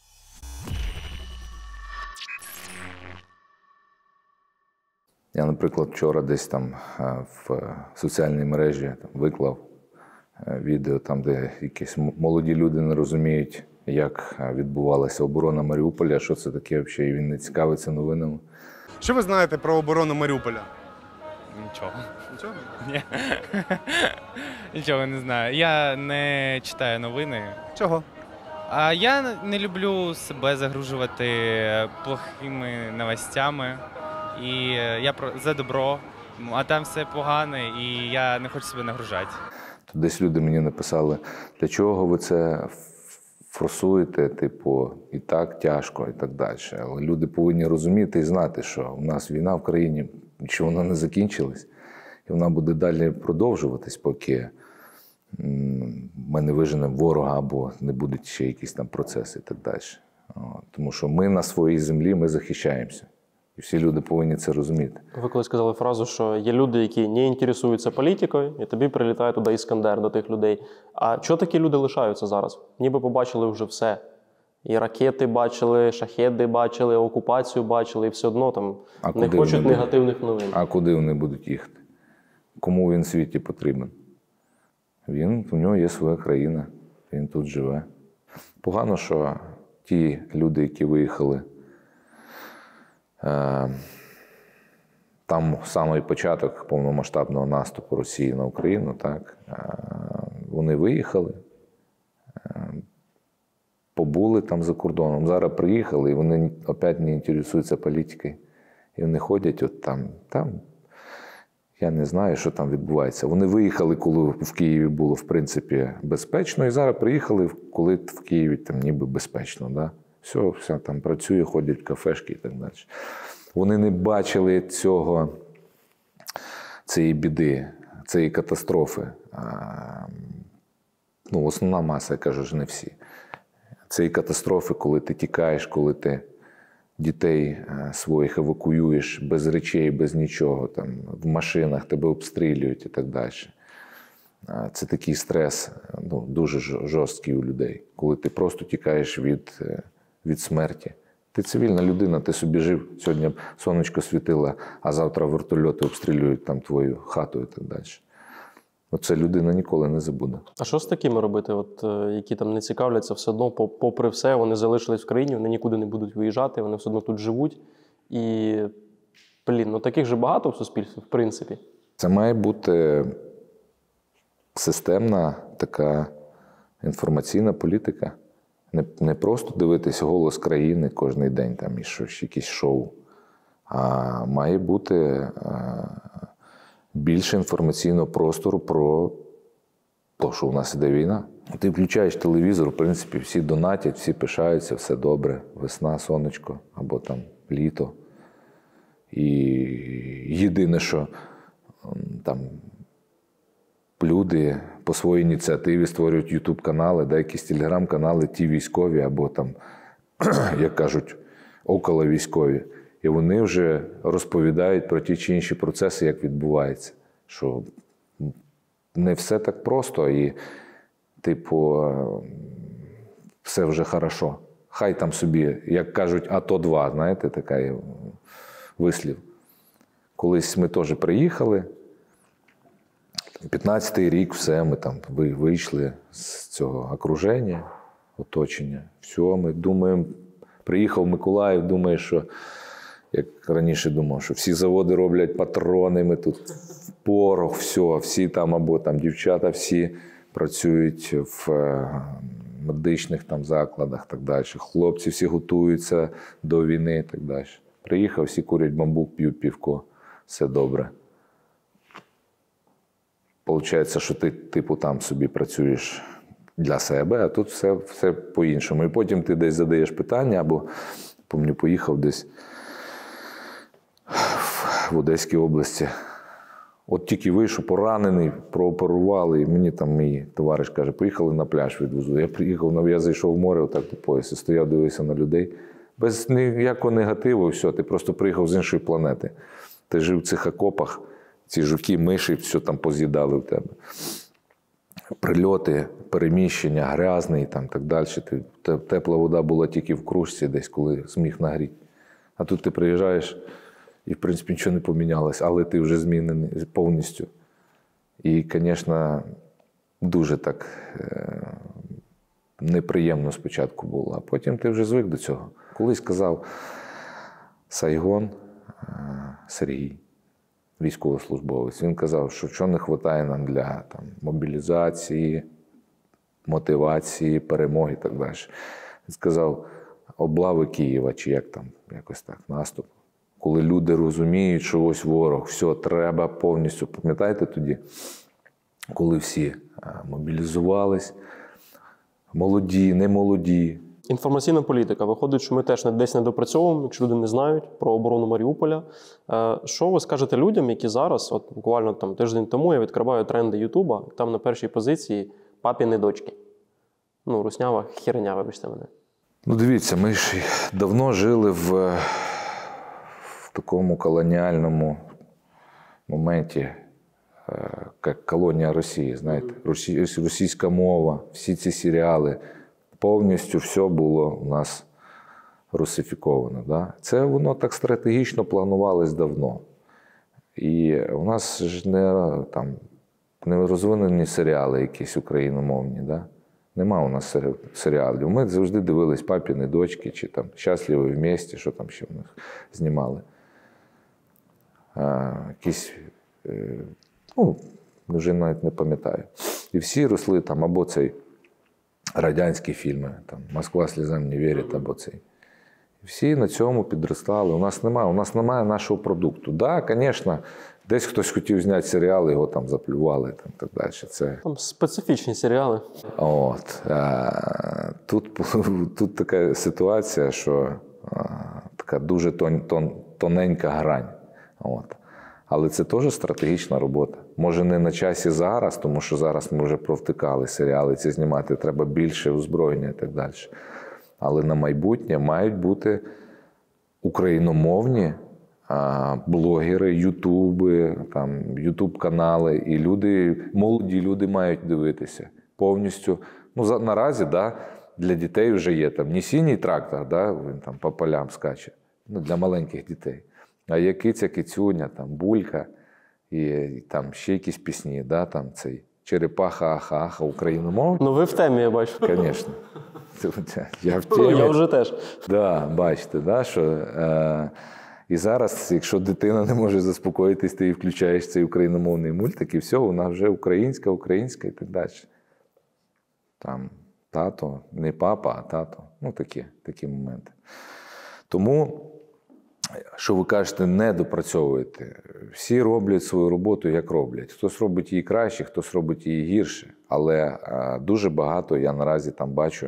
Я, наприклад, вчора десь там в соціальній мережі там, виклав відео, там, де якісь молоді люди не розуміють, як відбувалася оборона Маріуполя, що це таке взагалі, і він не цікавиться новинами. Що ви знаєте про оборону Маріуполя? Нічого. Нічого? Ні. Нічого не знаю. Я не читаю новини. Чого? А я не люблю себе загружувати плохими новостями. І я про за добро, а там все погане, і я не хочу себе нагружати. Десь люди мені написали, для чого ви це форсуєте, типу, і так тяжко, і так далі. Але люди повинні розуміти і знати, що у нас війна в країні, що вона не закінчилась, і вона буде далі продовжуватись, поки ми не виженемо ворога або не будуть ще якісь там процеси і так далі. Тому що ми на своїй землі, ми захищаємося. І всі люди повинні це розуміти. Ви коли сказали фразу, що є люди, які не інтересуються політикою, і тобі прилітає туди Іскандер до тих людей. А чого такі люди лишаються зараз? Ніби побачили вже все. І ракети бачили, шахеди бачили, окупацію бачили, і все одно там а не хочуть негативних новин. А куди вони будуть їхати? Кому він в світі потрібен? Він, у нього є своя країна, він тут живе. Погано, що ті люди, які виїхали, там самий початок повномасштабного наступу Росії на Україну, так, вони виїхали, побули там за кордоном, зараз приїхали, і вони опять не інтересуються політикою. І вони ходять от там, там, я не знаю, що там відбувається. Вони виїхали, коли в Києві було, в принципі, безпечно, і зараз приїхали, коли в Києві там ніби безпечно, да? Все, все там працює, ходять в кафешки і так далі. Вони не бачили цього, цієї біди, цієї катастрофи. Ну, основна маса, я кажу, ж не всі. Цієї катастрофи, коли ти тікаєш, коли ти дітей своїх евакуюєш без речей, без нічого, там, в машинах тебе обстрілюють і так далі. Це такий стрес, ну, дуже жорсткий у людей, коли ти просто тікаєш від, від смерті. Ти цивільна людина, ти собі жив, сьогодні сонечко світило, а завтра вертольоти обстрілюють там твою хату і так далі. Оце людина ніколи не забуде. А що з такими робити, от, які там не цікавляться, все одно, попри все, вони залишились в країні, вони нікуди не будуть виїжджати, вони все одно тут живуть. І, блін, ну таких же багато в суспільстві, в принципі. Це має бути системна така інформаційна політика. Не, не просто дивитися «Голос країни» кожен день там, і щось, якісь шоу, а має бути е, більше інформаційного простору про те, що у нас іде війна. Ти включаєш телевізор, в принципі, всі донатять, всі пишаються, все добре, весна, сонечко або там літо. І єдине, що там люди по своїй ініціативі створюють ютуб-канали, да, якісь телеграм-канали, ті військові, або там, як кажуть, околовійськові. І вони вже розповідають про ті чи інші процеси, як відбувається. Що не все так просто і, типу, все вже хорошо. Хай там собі, як кажуть, АТО два, знаєте, такий вислів. Колись ми теж приїхали, п'ятнадцятий рік, все, ми там вийшли з цього окруження, оточення. Все, ми думаємо, приїхав Миколаїв, думає, що, як раніше думав, що всі заводи роблять патрони, ми тут порох, все, всі там, або там дівчата всі працюють в медичних там закладах, так далі. Хлопці всі готуються до війни і так далі. Приїхав, всі курять бамбук, п'ють півко, все добре. Получається, що ти, типу, там собі працюєш для себе, а тут все, все по-іншому. І потім ти десь задаєш питання, або, пам'ятаю, поїхав десь в Одеській області. От тільки вийшов, поранений, прооперували, і мені там мій товариш каже, поїхали на пляж відвезу. Я приїхав, я зайшов в море, отак до пояса, стояв, дивився на людей. Без ніякого негативу, все, ти просто приїхав з іншої планети. Ти жив в цих окопах, Ці жуки, миші, все там поз'їдали в тебе. Прильоти, переміщення, грязний, там так далі. Ти, тепла вода була тільки в кружці десь, коли зміг нагріти. А тут ти приїжджаєш і, в принципі, нічого не помінялося, але ти вже змінений повністю. І, звісно, дуже так е- неприємно спочатку було, а потім ти вже звик до цього. Колись казав Сайгон е- Сергій, військовослужбовець, він казав, що що не вистачає нам для там, мобілізації, мотивації, перемоги і так далі. Він сказав, облави Києва, чи як там, якось так, наступ. Коли люди розуміють, що ось ворог, все, треба повністю. Пам'ятаєте тоді, коли всі мобілізувались, молоді, не молоді. Інформаційна політика. Виходить, що ми теж десь не допрацьовуємо, якщо люди не знають про оборону Маріуполя. Що ви скажете людям, які зараз, от буквально там тиждень тому я відкриваю тренди Ютуба, там на першій позиції папіни дочки. Ну, руснява херня, вибачте мене. Ну, дивіться, ми ж давно жили в, в такому колоніальному моменті, як колонія Росії, знаєте. Російська мова, всі ці серіали, повністю все було у нас русифіковано. Да? Це воно так стратегічно планувалось давно. І у нас ж не, там, не розвинені серіали якісь україномовні, да? Нема у нас серіалів. Ми завжди дивились «Папіни дочки» чи там «Щасливі вместе», що там ще в них знімали. А, якісь, ну, вже навіть не пам'ятаю. І всі росли там або цей радянські фільми, там «Москва сльозам не вірить», або цей. Всі на цьому підростали. У нас немає, у нас немає нашого продукту. Так, да, звісно, десь хтось хотів зняти серіал, його там заплювали, там так далі. Це... Там специфічні серіали. От. А, тут, тут така ситуація, що а, така дуже тон, тон, тоненька грань. От. Але це теж стратегічна робота. Може, не на часі зараз, тому що зараз ми вже провтикали серіали, ці знімати треба більше озброєння і так далі. Але на майбутнє мають бути україномовні а, блогери, ютуби, там, ютуб-канали. І люди, молоді люди мають дивитися повністю. Ну, за, наразі, да, для дітей вже є там не синій трактор, да, він там по полям скаче, ну, для маленьких дітей. А є киця, кицюня, там, булька і, і там ще якісь пісні, да, там цей черепаха, аха, аха, україномовні. Ну ви в темі, я бачу. Звісно. Я в темі. Я вже теж. Да, бачите, да, що е, і зараз, якщо дитина не може заспокоїтись, ти їй включаєш цей україномовний мультик, і все, вона вже українська, українська і так далі. Там тато, не папа, а тато. Ну, такі, такі моменти. Тому, що ви кажете, не допрацьовуєте. Всі роблять свою роботу, як роблять. Хтось робить її краще, хтось робить її гірше. Але е, дуже багато я наразі там бачу,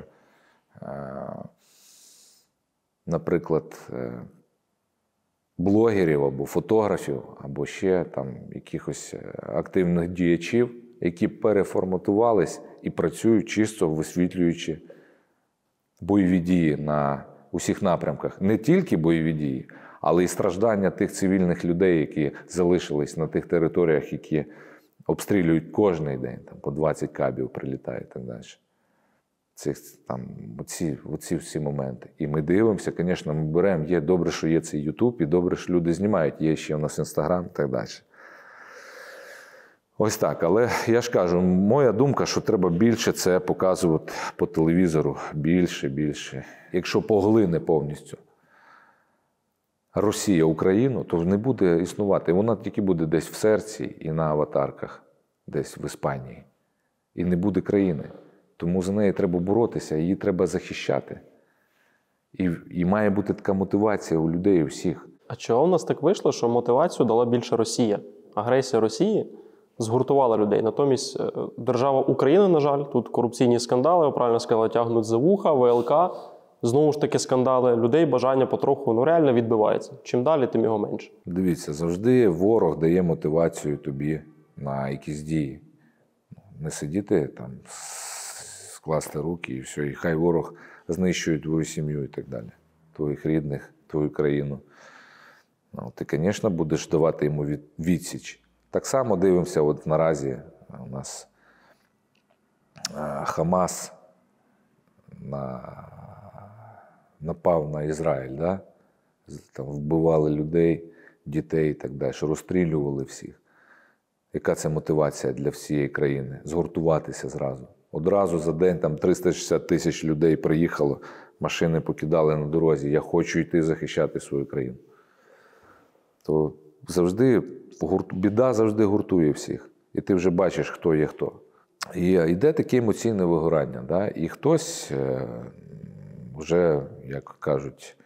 наприклад, блогерів або фотографів, або ще там якихось активних діячів, які переформатувались і працюють чисто висвітлюючи бойові дії на усіх напрямках. Не тільки бойові дії, але й страждання тих цивільних людей, які залишились на тих територіях, які обстрілюють кожен день, там по двадцять кабів прилітає і так далі. Цих, там, оці, оці всі моменти. І ми дивимося, звісно, ми беремо, є добре, що є цей Ютуб, і добре, що люди знімають, є ще у нас Інстаграм і так далі. Ось так, але я ж кажу, моя думка, що треба більше це показувати по телевізору, більше, більше. Якщо поглине повністю Росія Україну, то не буде існувати. Вона тільки буде десь в серці і на аватарках, десь в Іспанії. І не буде країни. Тому за неї треба боротися, її треба захищати. І, і має бути така мотивація у людей, у всіх. А чого в нас так вийшло, що мотивацію дала більше Росія? Агресія Росії згуртувала людей. Натомість держава Україна, на жаль, тут корупційні скандали, ви правильно сказали, тягнуть за вуха, ВЛК, знову ж таки скандали. Людей бажання потроху, ну реально відбивається. Чим далі, тим його менше. Дивіться, завжди ворог дає мотивацію тобі на якісь дії. Не сидіти там, скласти руки і все, і хай ворог знищує твою сім'ю і так далі, твоїх рідних, твою країну. Ну, ти, звісно, будеш давати йому відсіч, Так само дивимося, от наразі у нас Хамас на, напав на Ізраїль, да? Там вбивали людей, дітей і так далі, розстрілювали всіх. Яка це мотивація для всієї країни? Згуртуватися зразу. Одразу за день там триста шістдесят тисяч людей приїхало, машини покидали на дорозі. Я хочу йти захищати свою країну. То завжди, біда завжди гуртує всіх. І ти вже бачиш, хто є хто. І йде таке емоційне вигорання. Да? І хтось вже, як кажуть,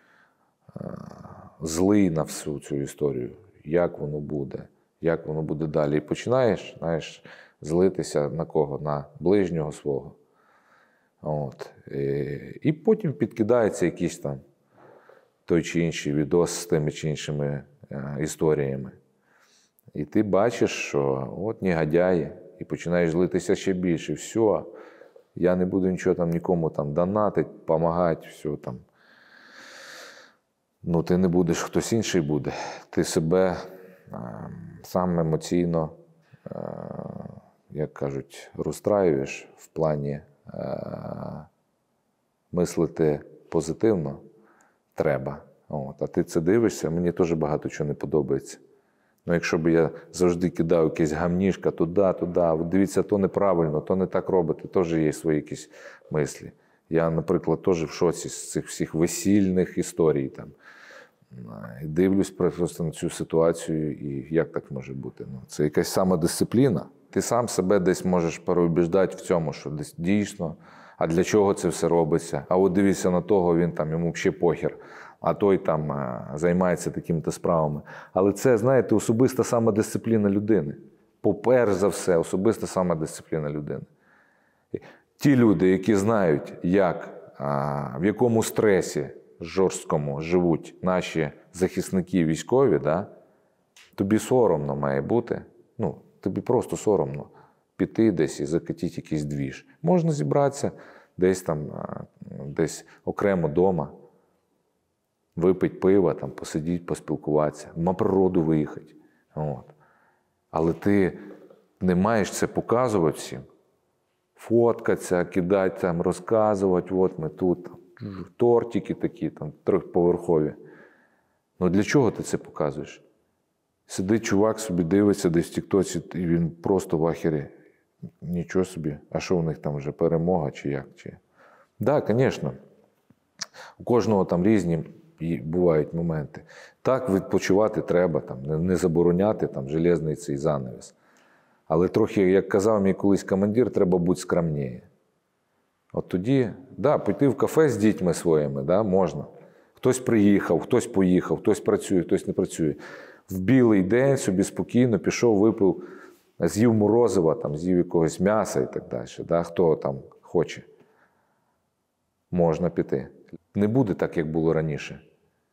злий на всю цю історію. Як воно буде, як воно буде далі. І починаєш, знаєш, злитися на кого? На ближнього свого. От. І, і потім підкидається якийсь там той чи інший відос з тими чи іншими е, історіями. І ти бачиш, що от негодяї, і починаєш злитися ще більше. Все, я не буду нічого там нікому там донатити, допомагати, все там. Ну, ти не будеш, хтось інший буде. Ти себе е, сам емоційно, е, як кажуть, розстраюєш в плані е, мислити позитивно треба. От. А ти це дивишся, мені теж багато чого не подобається. Ну, якщо б я завжди кидав якесь гамнішка туди, туди, от дивіться, то неправильно, то не так робити, теж є свої якісь мислі. Я, наприклад, теж в шоці з цих всіх весільних історій там. І дивлюсь просто на цю ситуацію, і як так може бути? Ну, це якась самодисципліна. Ти сам себе десь можеш переубіждати в цьому, що десь дійсно, а для чого це все робиться? А от дивіться на того, він там, йому взагалі похер, а той там а, займається такими-то справами. Але це, знаєте, особиста самодисципліна людини. Поперш за все, особиста самодисципліна людини. Ті люди, які знають, як, а, в якому стресі жорсткому живуть наші захисники військові, да, тобі соромно має бути, ну, тобі просто соромно піти десь і закатити якийсь двіж. Можна зібратися десь там, десь окремо вдома, випити пива, там, посидіти, поспілкуватися, на природу виїхати. От. Але ти не маєш це показувати всім. Фоткатися, кидати, там, розказувати, от ми тут, тортики такі, там, трьохповерхові. Ну для чого ти це показуєш? Сидить чувак собі, дивиться десь в тіктоці, і він просто в ахері. Нічого собі. А що у них там вже, перемога чи як? Так, да, звісно. У кожного там різні бувають моменти. Так, відпочивати треба, там, не забороняти там, железний цей занавіс. Але трохи, як казав мій колись командир, треба бути скромніше. От тоді, да, піти в кафе з дітьми своїми, да, можна. Хтось приїхав, хтось поїхав, хтось працює, хтось не працює. В білий день собі спокійно пішов, випив, з'їв морозива, там, з'їв якогось м'яса і так далі. Да, хто там хоче. Можна піти. Не буде так, як було раніше.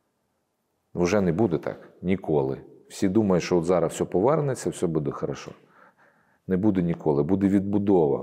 Вже не буде так. Ніколи. Всі думають, що от зараз все повернеться, все буде хорошо. Не буде ніколи. Буде відбудова.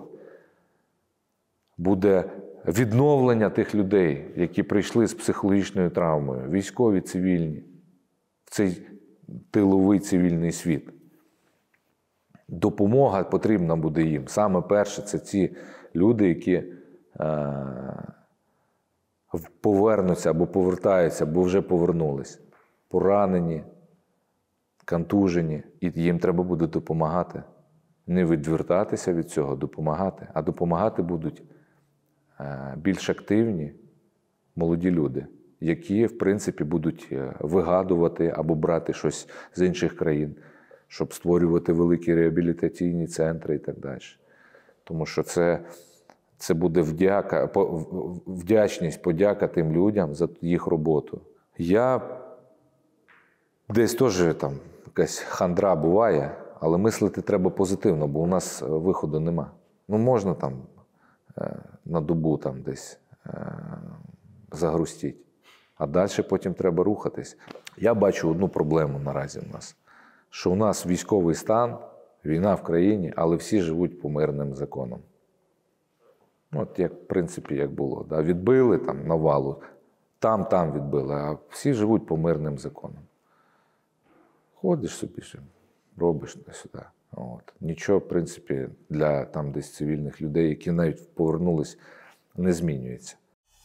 Буде відновлення тих людей, які прийшли з психологічною травмою, військові, цивільні, в цей тиловий цивільний світ. Допомога потрібна буде їм. Саме перше, це ці люди, які е- повернуться або повертаються, або вже повернулись. Поранені, контужені. І їм треба буде допомагати. Не відвертатися від цього, допомагати. А допомагати будуть більш активні молоді люди, які, в принципі, будуть вигадувати або брати щось з інших країн, щоб створювати великі реабілітаційні центри і так далі. Тому що це, це буде вдяка, вдячність, подяка тим людям за їх роботу. Я десь теж там якась хандра буває, але мислити треба позитивно, бо у нас виходу нема. Ну, можна там на добу там десь загрустіть. А далі потім треба рухатись. Я бачу одну проблему наразі у нас. Що у нас військовий стан, війна в країні, але всі живуть по мирним законам. От як, в принципі, як було. Да? Відбили там навалу, там-там відбили, а всі живуть по мирним законам. Ходиш собі, робиш сюди. От. Нічого, в принципі, для там десь цивільних людей, які навіть повернулись, не змінюється.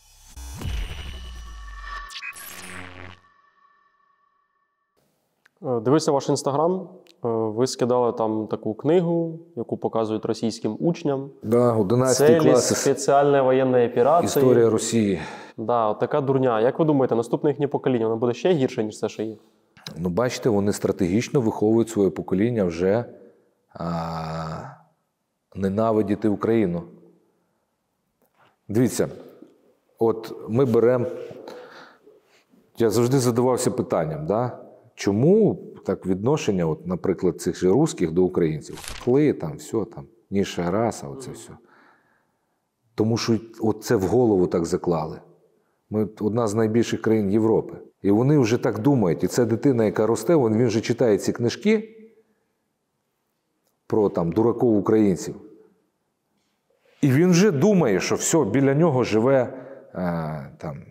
Дивився ваш інстаграм. Ви скидали там таку книгу, яку показують російським учням. Да, одинадцятий Целі клас. спеціальної воєнної операції. Історія Росії. Да, от така дурня. Як ви думаєте, наступне їхнє покоління, воно буде ще гірше, ніж це, що є? Ну, бачите, вони стратегічно виховують своє покоління вже а, ненавидіти Україну. Дивіться, от ми беремо, я завжди задавався питанням, да? Чому так відношення, от, наприклад, цих же русських до українців? Кли, там, все, там, ніша раса, оце все. Тому що от це в голову так заклали. Ми одна з найбільших країн Європи. І вони вже так думають. І це дитина, яка росте, він, він вже читає ці книжки про там, дураков українців. І він вже думає, що все, біля нього живе а, там,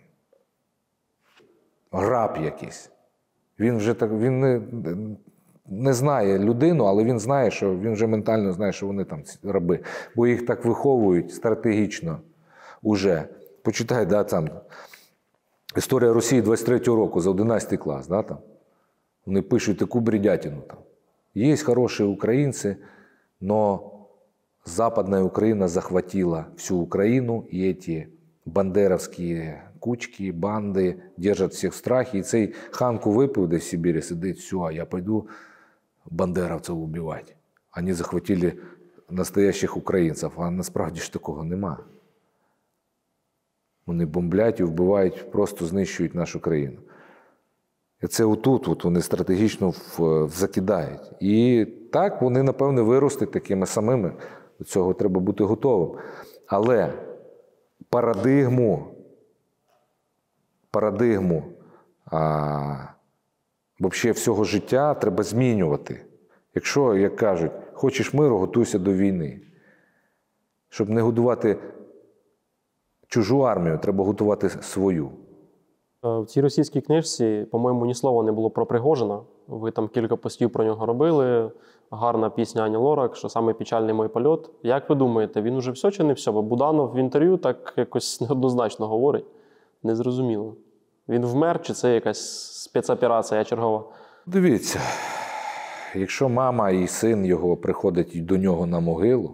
раб якийсь. Він вже так, він не, не знає людину, але він знає, що він вже ментально знає, що вони там раби. Бо їх так виховують стратегічно уже. Почитай, да, там, історія Росії двадцять третього року, за одинадцятий клас, да, там. Вони пишуть таку бредятину там. Є хороші українці, но Западная Украина захватила всю Украину, и эти бандеровские кучки, банди держать всіх в страхі. І цей Ханку випив десь в Сибірі, сидить, все, а я пойду бандеровців убивати. Вони захватили настоящих українців, а насправді ж такого нема. Вони бомблять і вбивають, просто знищують нашу країну. І це отут от вони стратегічно в, закидають. І так вони, напевне, виростуть такими самими. До цього треба бути готовим. Але парадигму, парадигму а, взагалі всього життя треба змінювати. Якщо, як кажуть, хочеш миру, готуйся до війни. Щоб не годувати чужу армію, треба готувати свою. В цій російській книжці, по-моєму, ні слова не було про Пригожина. Ви там кілька постів про нього робили. Гарна пісня Ані Лорак, що саме печальний мій польот. Як ви думаєте, він уже все чи не все? Бо Буданов в інтерв'ю так якось неоднозначно говорить. Незрозуміло. Він вмер, чи це якась спецоперація чергова? Дивіться, якщо мама і син його приходять до нього на могилу,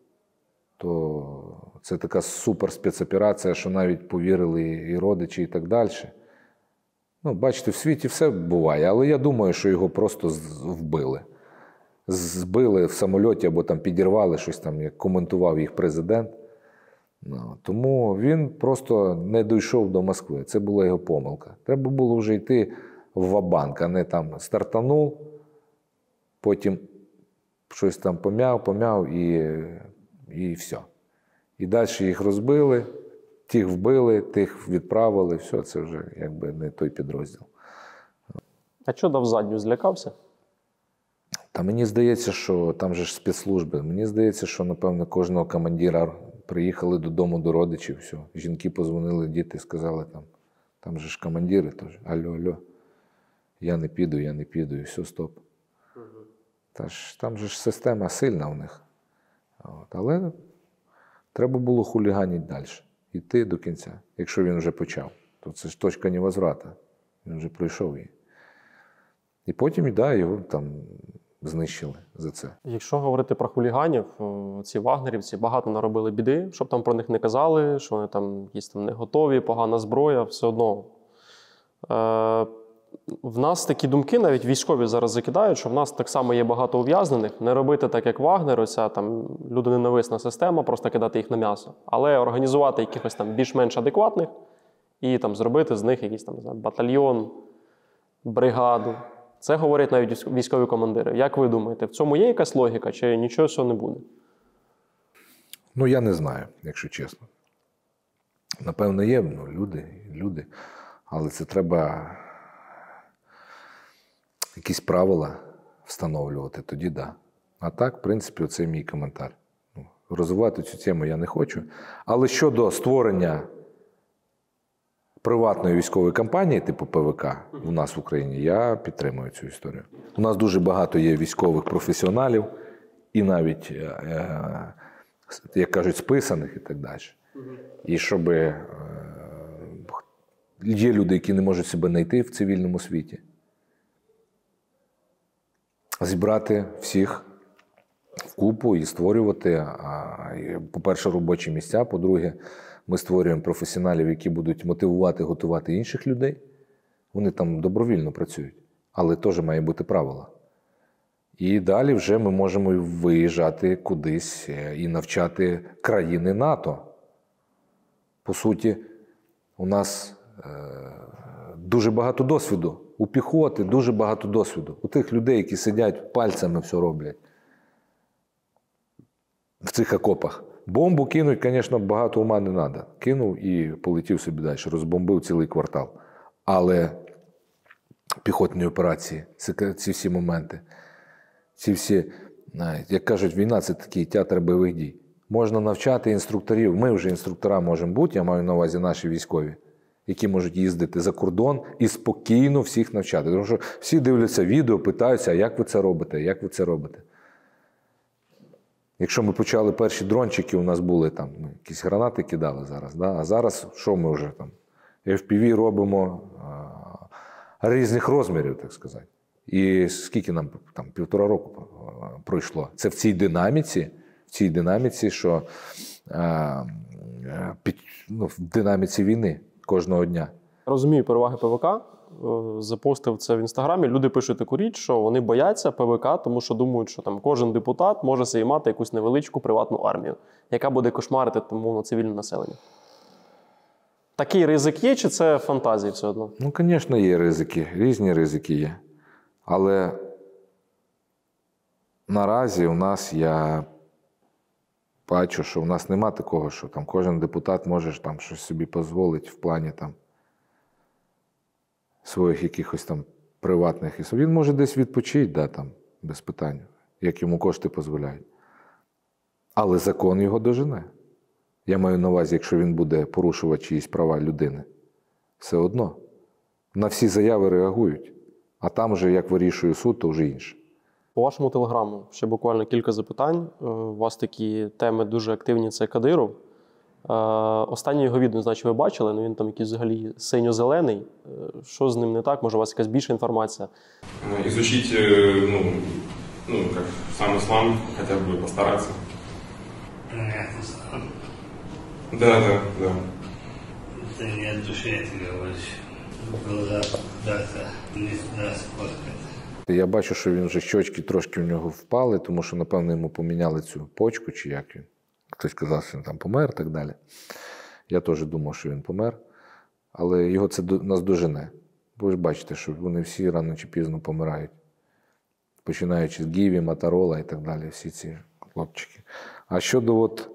то це така супер спецоперація, що навіть повірили і родичі, і так далі. Ну, бачите, в світі все буває, але я думаю, що його просто вбили. Збили в самольоті або там підірвали щось там, як коментував їх президент. Ну, тому він просто не дійшов до Москви. Це була його помилка. Треба було вже йти в ва-банк, а не там стартанув, потім щось там пом'яв, пом'яв і, і все. І далі їх розбили, тих вбили, тих відправили. Все, це вже якби не той підрозділ. А що дав задню? Злякався? Та мені здається, що там же ж спецслужби. Мені здається, що, напевно, кожного командира приїхали додому до родичів, все. Жінки позвонили, діти сказали, там, там же ж командири теж. Алло, алло, я не піду, я не піду, і все, стоп. Угу. Та ж, там же ж система сильна у них. От. Але треба було хуліганити далі, йти до кінця. Якщо він вже почав, то це ж точка невозврата. Він вже пройшов її. І потім, да, його там знищили за це. Якщо говорити про хуліганів, ці вагнерівці багато наробили біди, щоб там про них не казали, що вони там якісь там не готові, погана зброя, все одно. Е, в нас такі думки, навіть військові зараз закидають, що в нас так само є багато ув'язнених, не робити так, як Вагнер, оця там людоненависна система, просто кидати їх на м'ясо, але організувати якихось там більш-менш адекватних і там зробити з них якийсь там, не знаю, батальйон, бригаду. Це говорять навіть військові командири. Як ви думаєте, в цьому є якась логіка, чи нічого цього не буде? Ну, я не знаю, якщо чесно. Напевно, є, ну, люди, люди. Але це треба якісь правила встановлювати, тоді да. А так, в принципі, оце мій коментар. Ну, розвивати цю тему я не хочу. Але щодо створення приватної військової кампанії, типу Пе Ве Ка, у нас в Україні, я підтримую цю історію. У нас дуже багато є військових професіоналів і навіть, е, як кажуть, списаних і так далі. І щоб е, є люди, які не можуть себе знайти в цивільному світі, зібрати всіх в купу і створювати, по-перше, робочі місця, по-друге, ми створюємо професіоналів, які будуть мотивувати, готувати інших людей. Вони там добровільно працюють, але теж має бути правила. І далі вже ми можемо виїжджати кудись і навчати країни НАТО. По суті, у нас е, дуже багато досвіду. У піхоти дуже багато досвіду. У тих людей, які сидять, пальцями все роблять. В цих окопах. Бомбу кинуть, звісно, багато ума не треба. Кинув і полетів собі далі, розбомбив цілий квартал. Але піхотні операції, ці всі моменти, ці всі, як кажуть, війна – це такий театр бойових дій. Можна навчати інструкторів. Ми вже інструктора можемо бути, я маю на увазі наші військові, які можуть їздити за кордон і спокійно всіх навчати. Тому що всі дивляться відео, питаються, а як ви це робите, як ви це робите. Якщо ми почали перші дрончики, у нас були там, ми якісь гранати кидали зараз, да? А зараз що ми вже там? Еф Пі Ві робимо а, різних розмірів, так сказати. І скільки нам там півтора року пройшло? Це в цій динаміці, в цій динаміці, що а, під, ну, в динаміці війни кожного дня. Розумію переваги Пе Ве Ка. Запостив це в Інстаграмі. Люди пишуть таку річ, що вони бояться Пе Ве Ка, тому що думають, що там кожен депутат може собі мати якусь невеличку приватну армію, яка буде кошмарити тому цивільне населення. Такий ризик є, чи це фантазії все одно? Ну, звісно, є ризики. Різні ризики є. Але наразі у нас, я бачу, що у нас нема такого, що там кожен депутат може там щось собі дозволити в плані там своїх якихось там приватних. Він може десь відпочити, да, там, без питань, як йому кошти дозволяють. Але закон його дожене. Я маю на увазі, якщо він буде порушувати чиїсь права людини. Все одно. На всі заяви реагують. А там вже, як вирішує суд, то вже інше. По вашому телеграму ще буквально кілька запитань. У вас такі теми дуже активні – це Кадиров. Останнє його відео, значить, ви бачили, ну він там якийсь взагалі синьо-зелений. Що з ним не так? Може, у вас якась більша інформація? Изучить, ну, ну, как сам ислам, хотя бы постараться. Понятно, ислам. Да, да, да. Это не от души, я тебе говорю. Глаза куда-то не туда сфоткать. Я бачу, що він вже щочки трошки в нього впали, тому що, напевно, йому поміняли цю почку, чи як він. Хтось сказав, що він там помер і так далі. Я теж думав, що він помер. Але його це нас дожене. Ви ж бачите, що вони всі рано чи пізно помирають. Починаючи з Гіві, Моторола і так далі, всі ці хлопчики. А щодо от,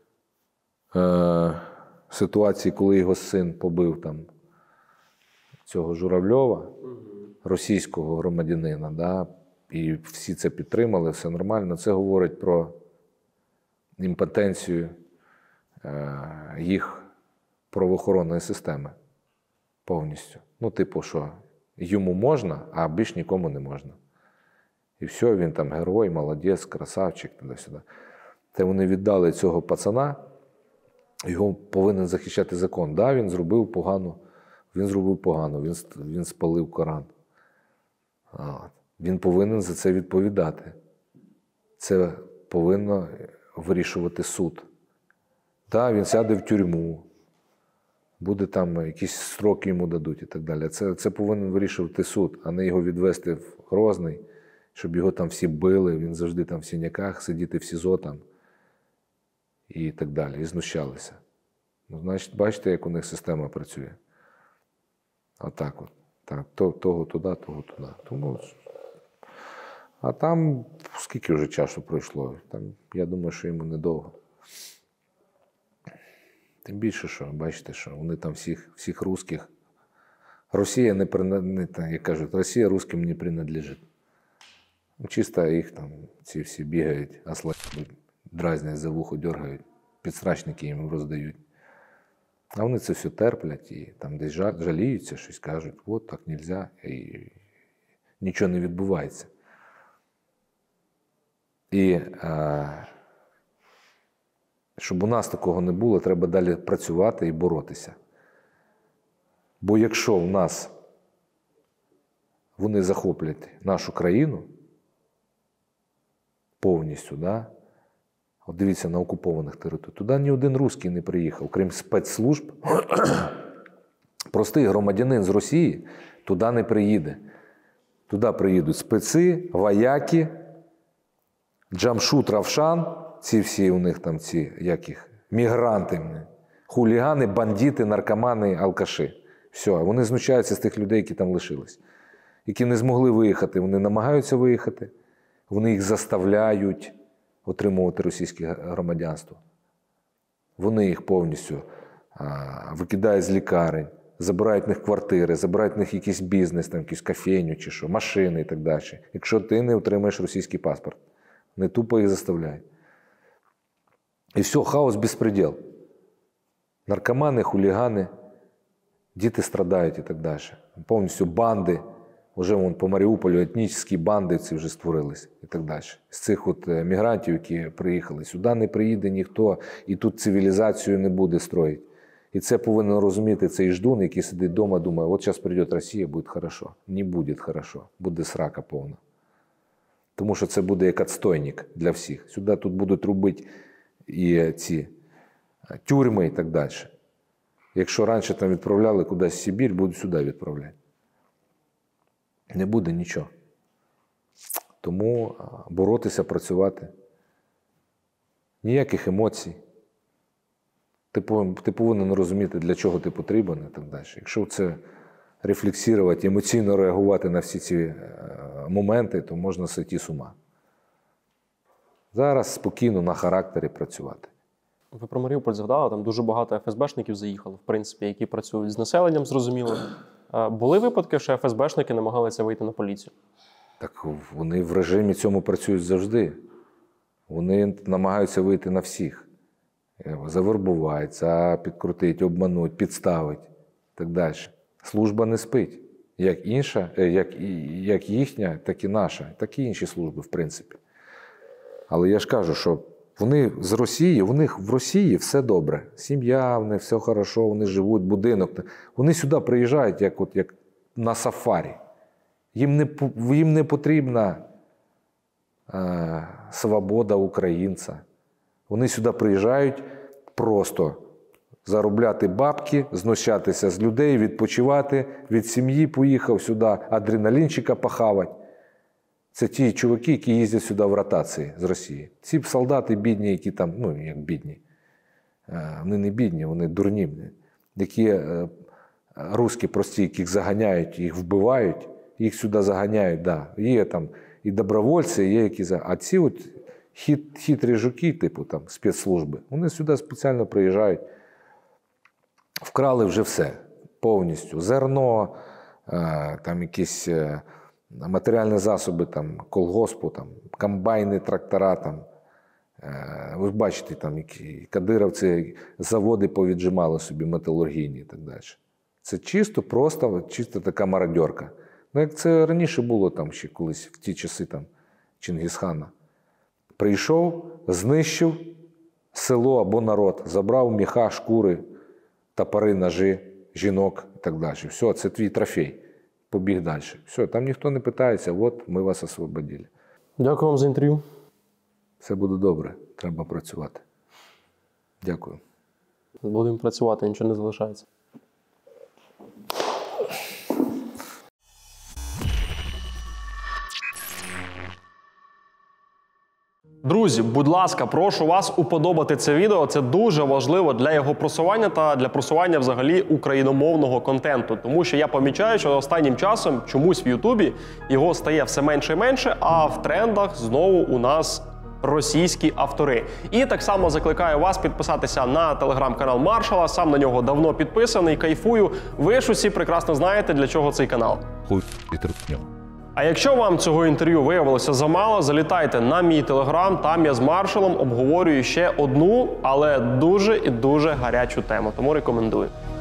е, ситуації, коли його син побив там цього Журавльова, російського громадянина, да, і всі це підтримали, все нормально, це говорить про імпотенцію е, їх правоохоронної системи повністю. Ну, типу, що йому можна, а більш нікому не можна. І все, він там герой, молодець, красавчик, туди-сюди. Це вони віддали цього пацана, його повинен захищати закон. Да, він зробив погано, він зробив погано, він, він спалив Коран. А, він повинен за це відповідати. Це повинно вирішувати суд. Да, він сяде в тюрму, буде там якісь строки йому дадуть і так далі. Це, це повинен вирішувати суд, а не його відвести в Грозний, щоб його там всі били, він завжди там в синяках, сидіти в СІЗО там і так далі, і знущалися. Ну, значить, бачите, як у них система працює. Отак от. Так, то, того туди, того туди. Тому, а там скільки вже часу пройшло? Там, я думаю, що йому недовго. Тим більше, що, бачите, що вони там всіх, всіх русських. Росія не, не як кажуть, Росія русским не принадлежить. Чисто їх там ці всі бігають, осла дразнять за вухо, дергають, підсрачники їм роздають. А вони це все терплять і там десь жаліються, щось кажуть, от так не можна, і нічого не відбувається. І е, щоб у нас такого не було, треба далі працювати і боротися. Бо якщо в нас вони захоплять нашу країну повністю, да? От дивіться, на окупованих територіях, туди ні один русський не приїхав, крім спецслужб. Простий громадянин з Росії туди не приїде. Туди приїдуть специ, вояки, Джамшут, Равшан, ці всі у них там ці, як їх, мігранти, хулігани, бандити, наркомани, алкаші. Все, вони знущаються з тих людей, які там лишились. Які не змогли виїхати, вони намагаються виїхати, вони їх заставляють отримувати російське громадянство. Вони їх повністю а, викидають з лікарень, забирають в них квартири, забирають в них якийсь бізнес, там, якусь кофейню чи що, машини і так далі. Якщо ти не отримаєш російський паспорт, не тупо їх заставляють. І все, хаос, безпреділ. Наркомани, хулігани, діти страдають і так далі. Повністю банди. Уже вон, по Маріуполю етнічні банди ці вже створились і так далі. З цих от мігрантів, які приїхали, сюди не приїде ніхто, і тут цивілізацію не буде строїти. І це повинен розуміти цей ждун, який сидить вдома, думає, от зараз прийде Росія, буде хорошо. Не буде хорошо, буде срака повна. Тому що це буде як відстойник для всіх. Сюди тут будуть робити і ці тюрми і так далі. Якщо раніше там відправляли кудись в Сибір, будуть сюди відправляти. Не буде нічого. Тому боротися, працювати. Ніяких емоцій. Ти повинен, ти повинен розуміти, для чого ти потрібен і так далі. Якщо це рефлексувати, емоційно реагувати на всі ці моменти, то можна сойти з ума. Зараз спокійно на характері працювати. Ви про Маріуполь згадали, там дуже багато еф ес бешників заїхало, в принципі, які працюють з населенням, зрозуміло. Були випадки, що еф ес бешники намагалися вийти на поліцію? Так вони в режимі цьому працюють завжди. Вони намагаються вийти на всіх. Завербувати, підкрутити, обманути, підставити і так далі. Служба не спить. Як інша, як, як їхня, так і наша, так і інші служби, в принципі. Але я ж кажу, що вони з Росії, у них в Росії все добре. Сім'я, в них все хорошо, вони живуть, будинок. Вони сюди приїжджають, як, от, як на сафарі. Їм не, їм не потрібна е, свобода українця. Вони сюди приїжджають просто заробляти бабки, знущатися з людей, відпочивати, від сім'ї поїхав сюди, адреналінчика похавати. Це ті чуваки, які їздять сюди в ротації з Росії. Ці солдати бідні, які там, ну як бідні, вони не бідні, вони дурні. Які русські прості, яких заганяють, їх вбивають, їх сюди заганяють, да. Є там і добровольці, є які заганяють. А ці от хит, хитрі жуки, типу там спецслужби, вони сюди спеціально приїжджають, вкрали вже все, повністю. Зерно, там якісь матеріальні засоби там, колгоспу, там, комбайни, трактора. Там. Ви ж бачите, там, які кадировці заводи повіджимали собі металургійні і так далі. Це чисто, просто, чисто така мародьорка. Ну, як це раніше було там ще колись, в ті часи там, Чингісхана. Прийшов, знищив село або народ, забрав міха, шкури, топори, ножи, жінок і так далі. Все, це твій трофей. Побіг далі. Все, там ніхто не питається, от ми вас освободили. Дякую вам за інтерв'ю. Все буде добре, треба працювати. Дякую. Будемо працювати, нічого не залишається. Друзі, будь ласка, прошу вас уподобати це відео. Це дуже важливо для його просування та для просування взагалі україномовного контенту. Тому що я помічаю, що останнім часом чомусь в Ютубі його стає все менше і менше, а в трендах знову у нас російські автори. І так само закликаю вас підписатися на телеграм-канал Маршала. Сам на нього давно підписаний, кайфую. Ви ж усі прекрасно знаєте, для чого цей канал. Хуй і трутню. А якщо вам цього інтерв'ю виявилося замало, залітайте на мій телеграм, там я з маршалом обговорюю ще одну, але дуже і дуже гарячу тему, тому рекомендую.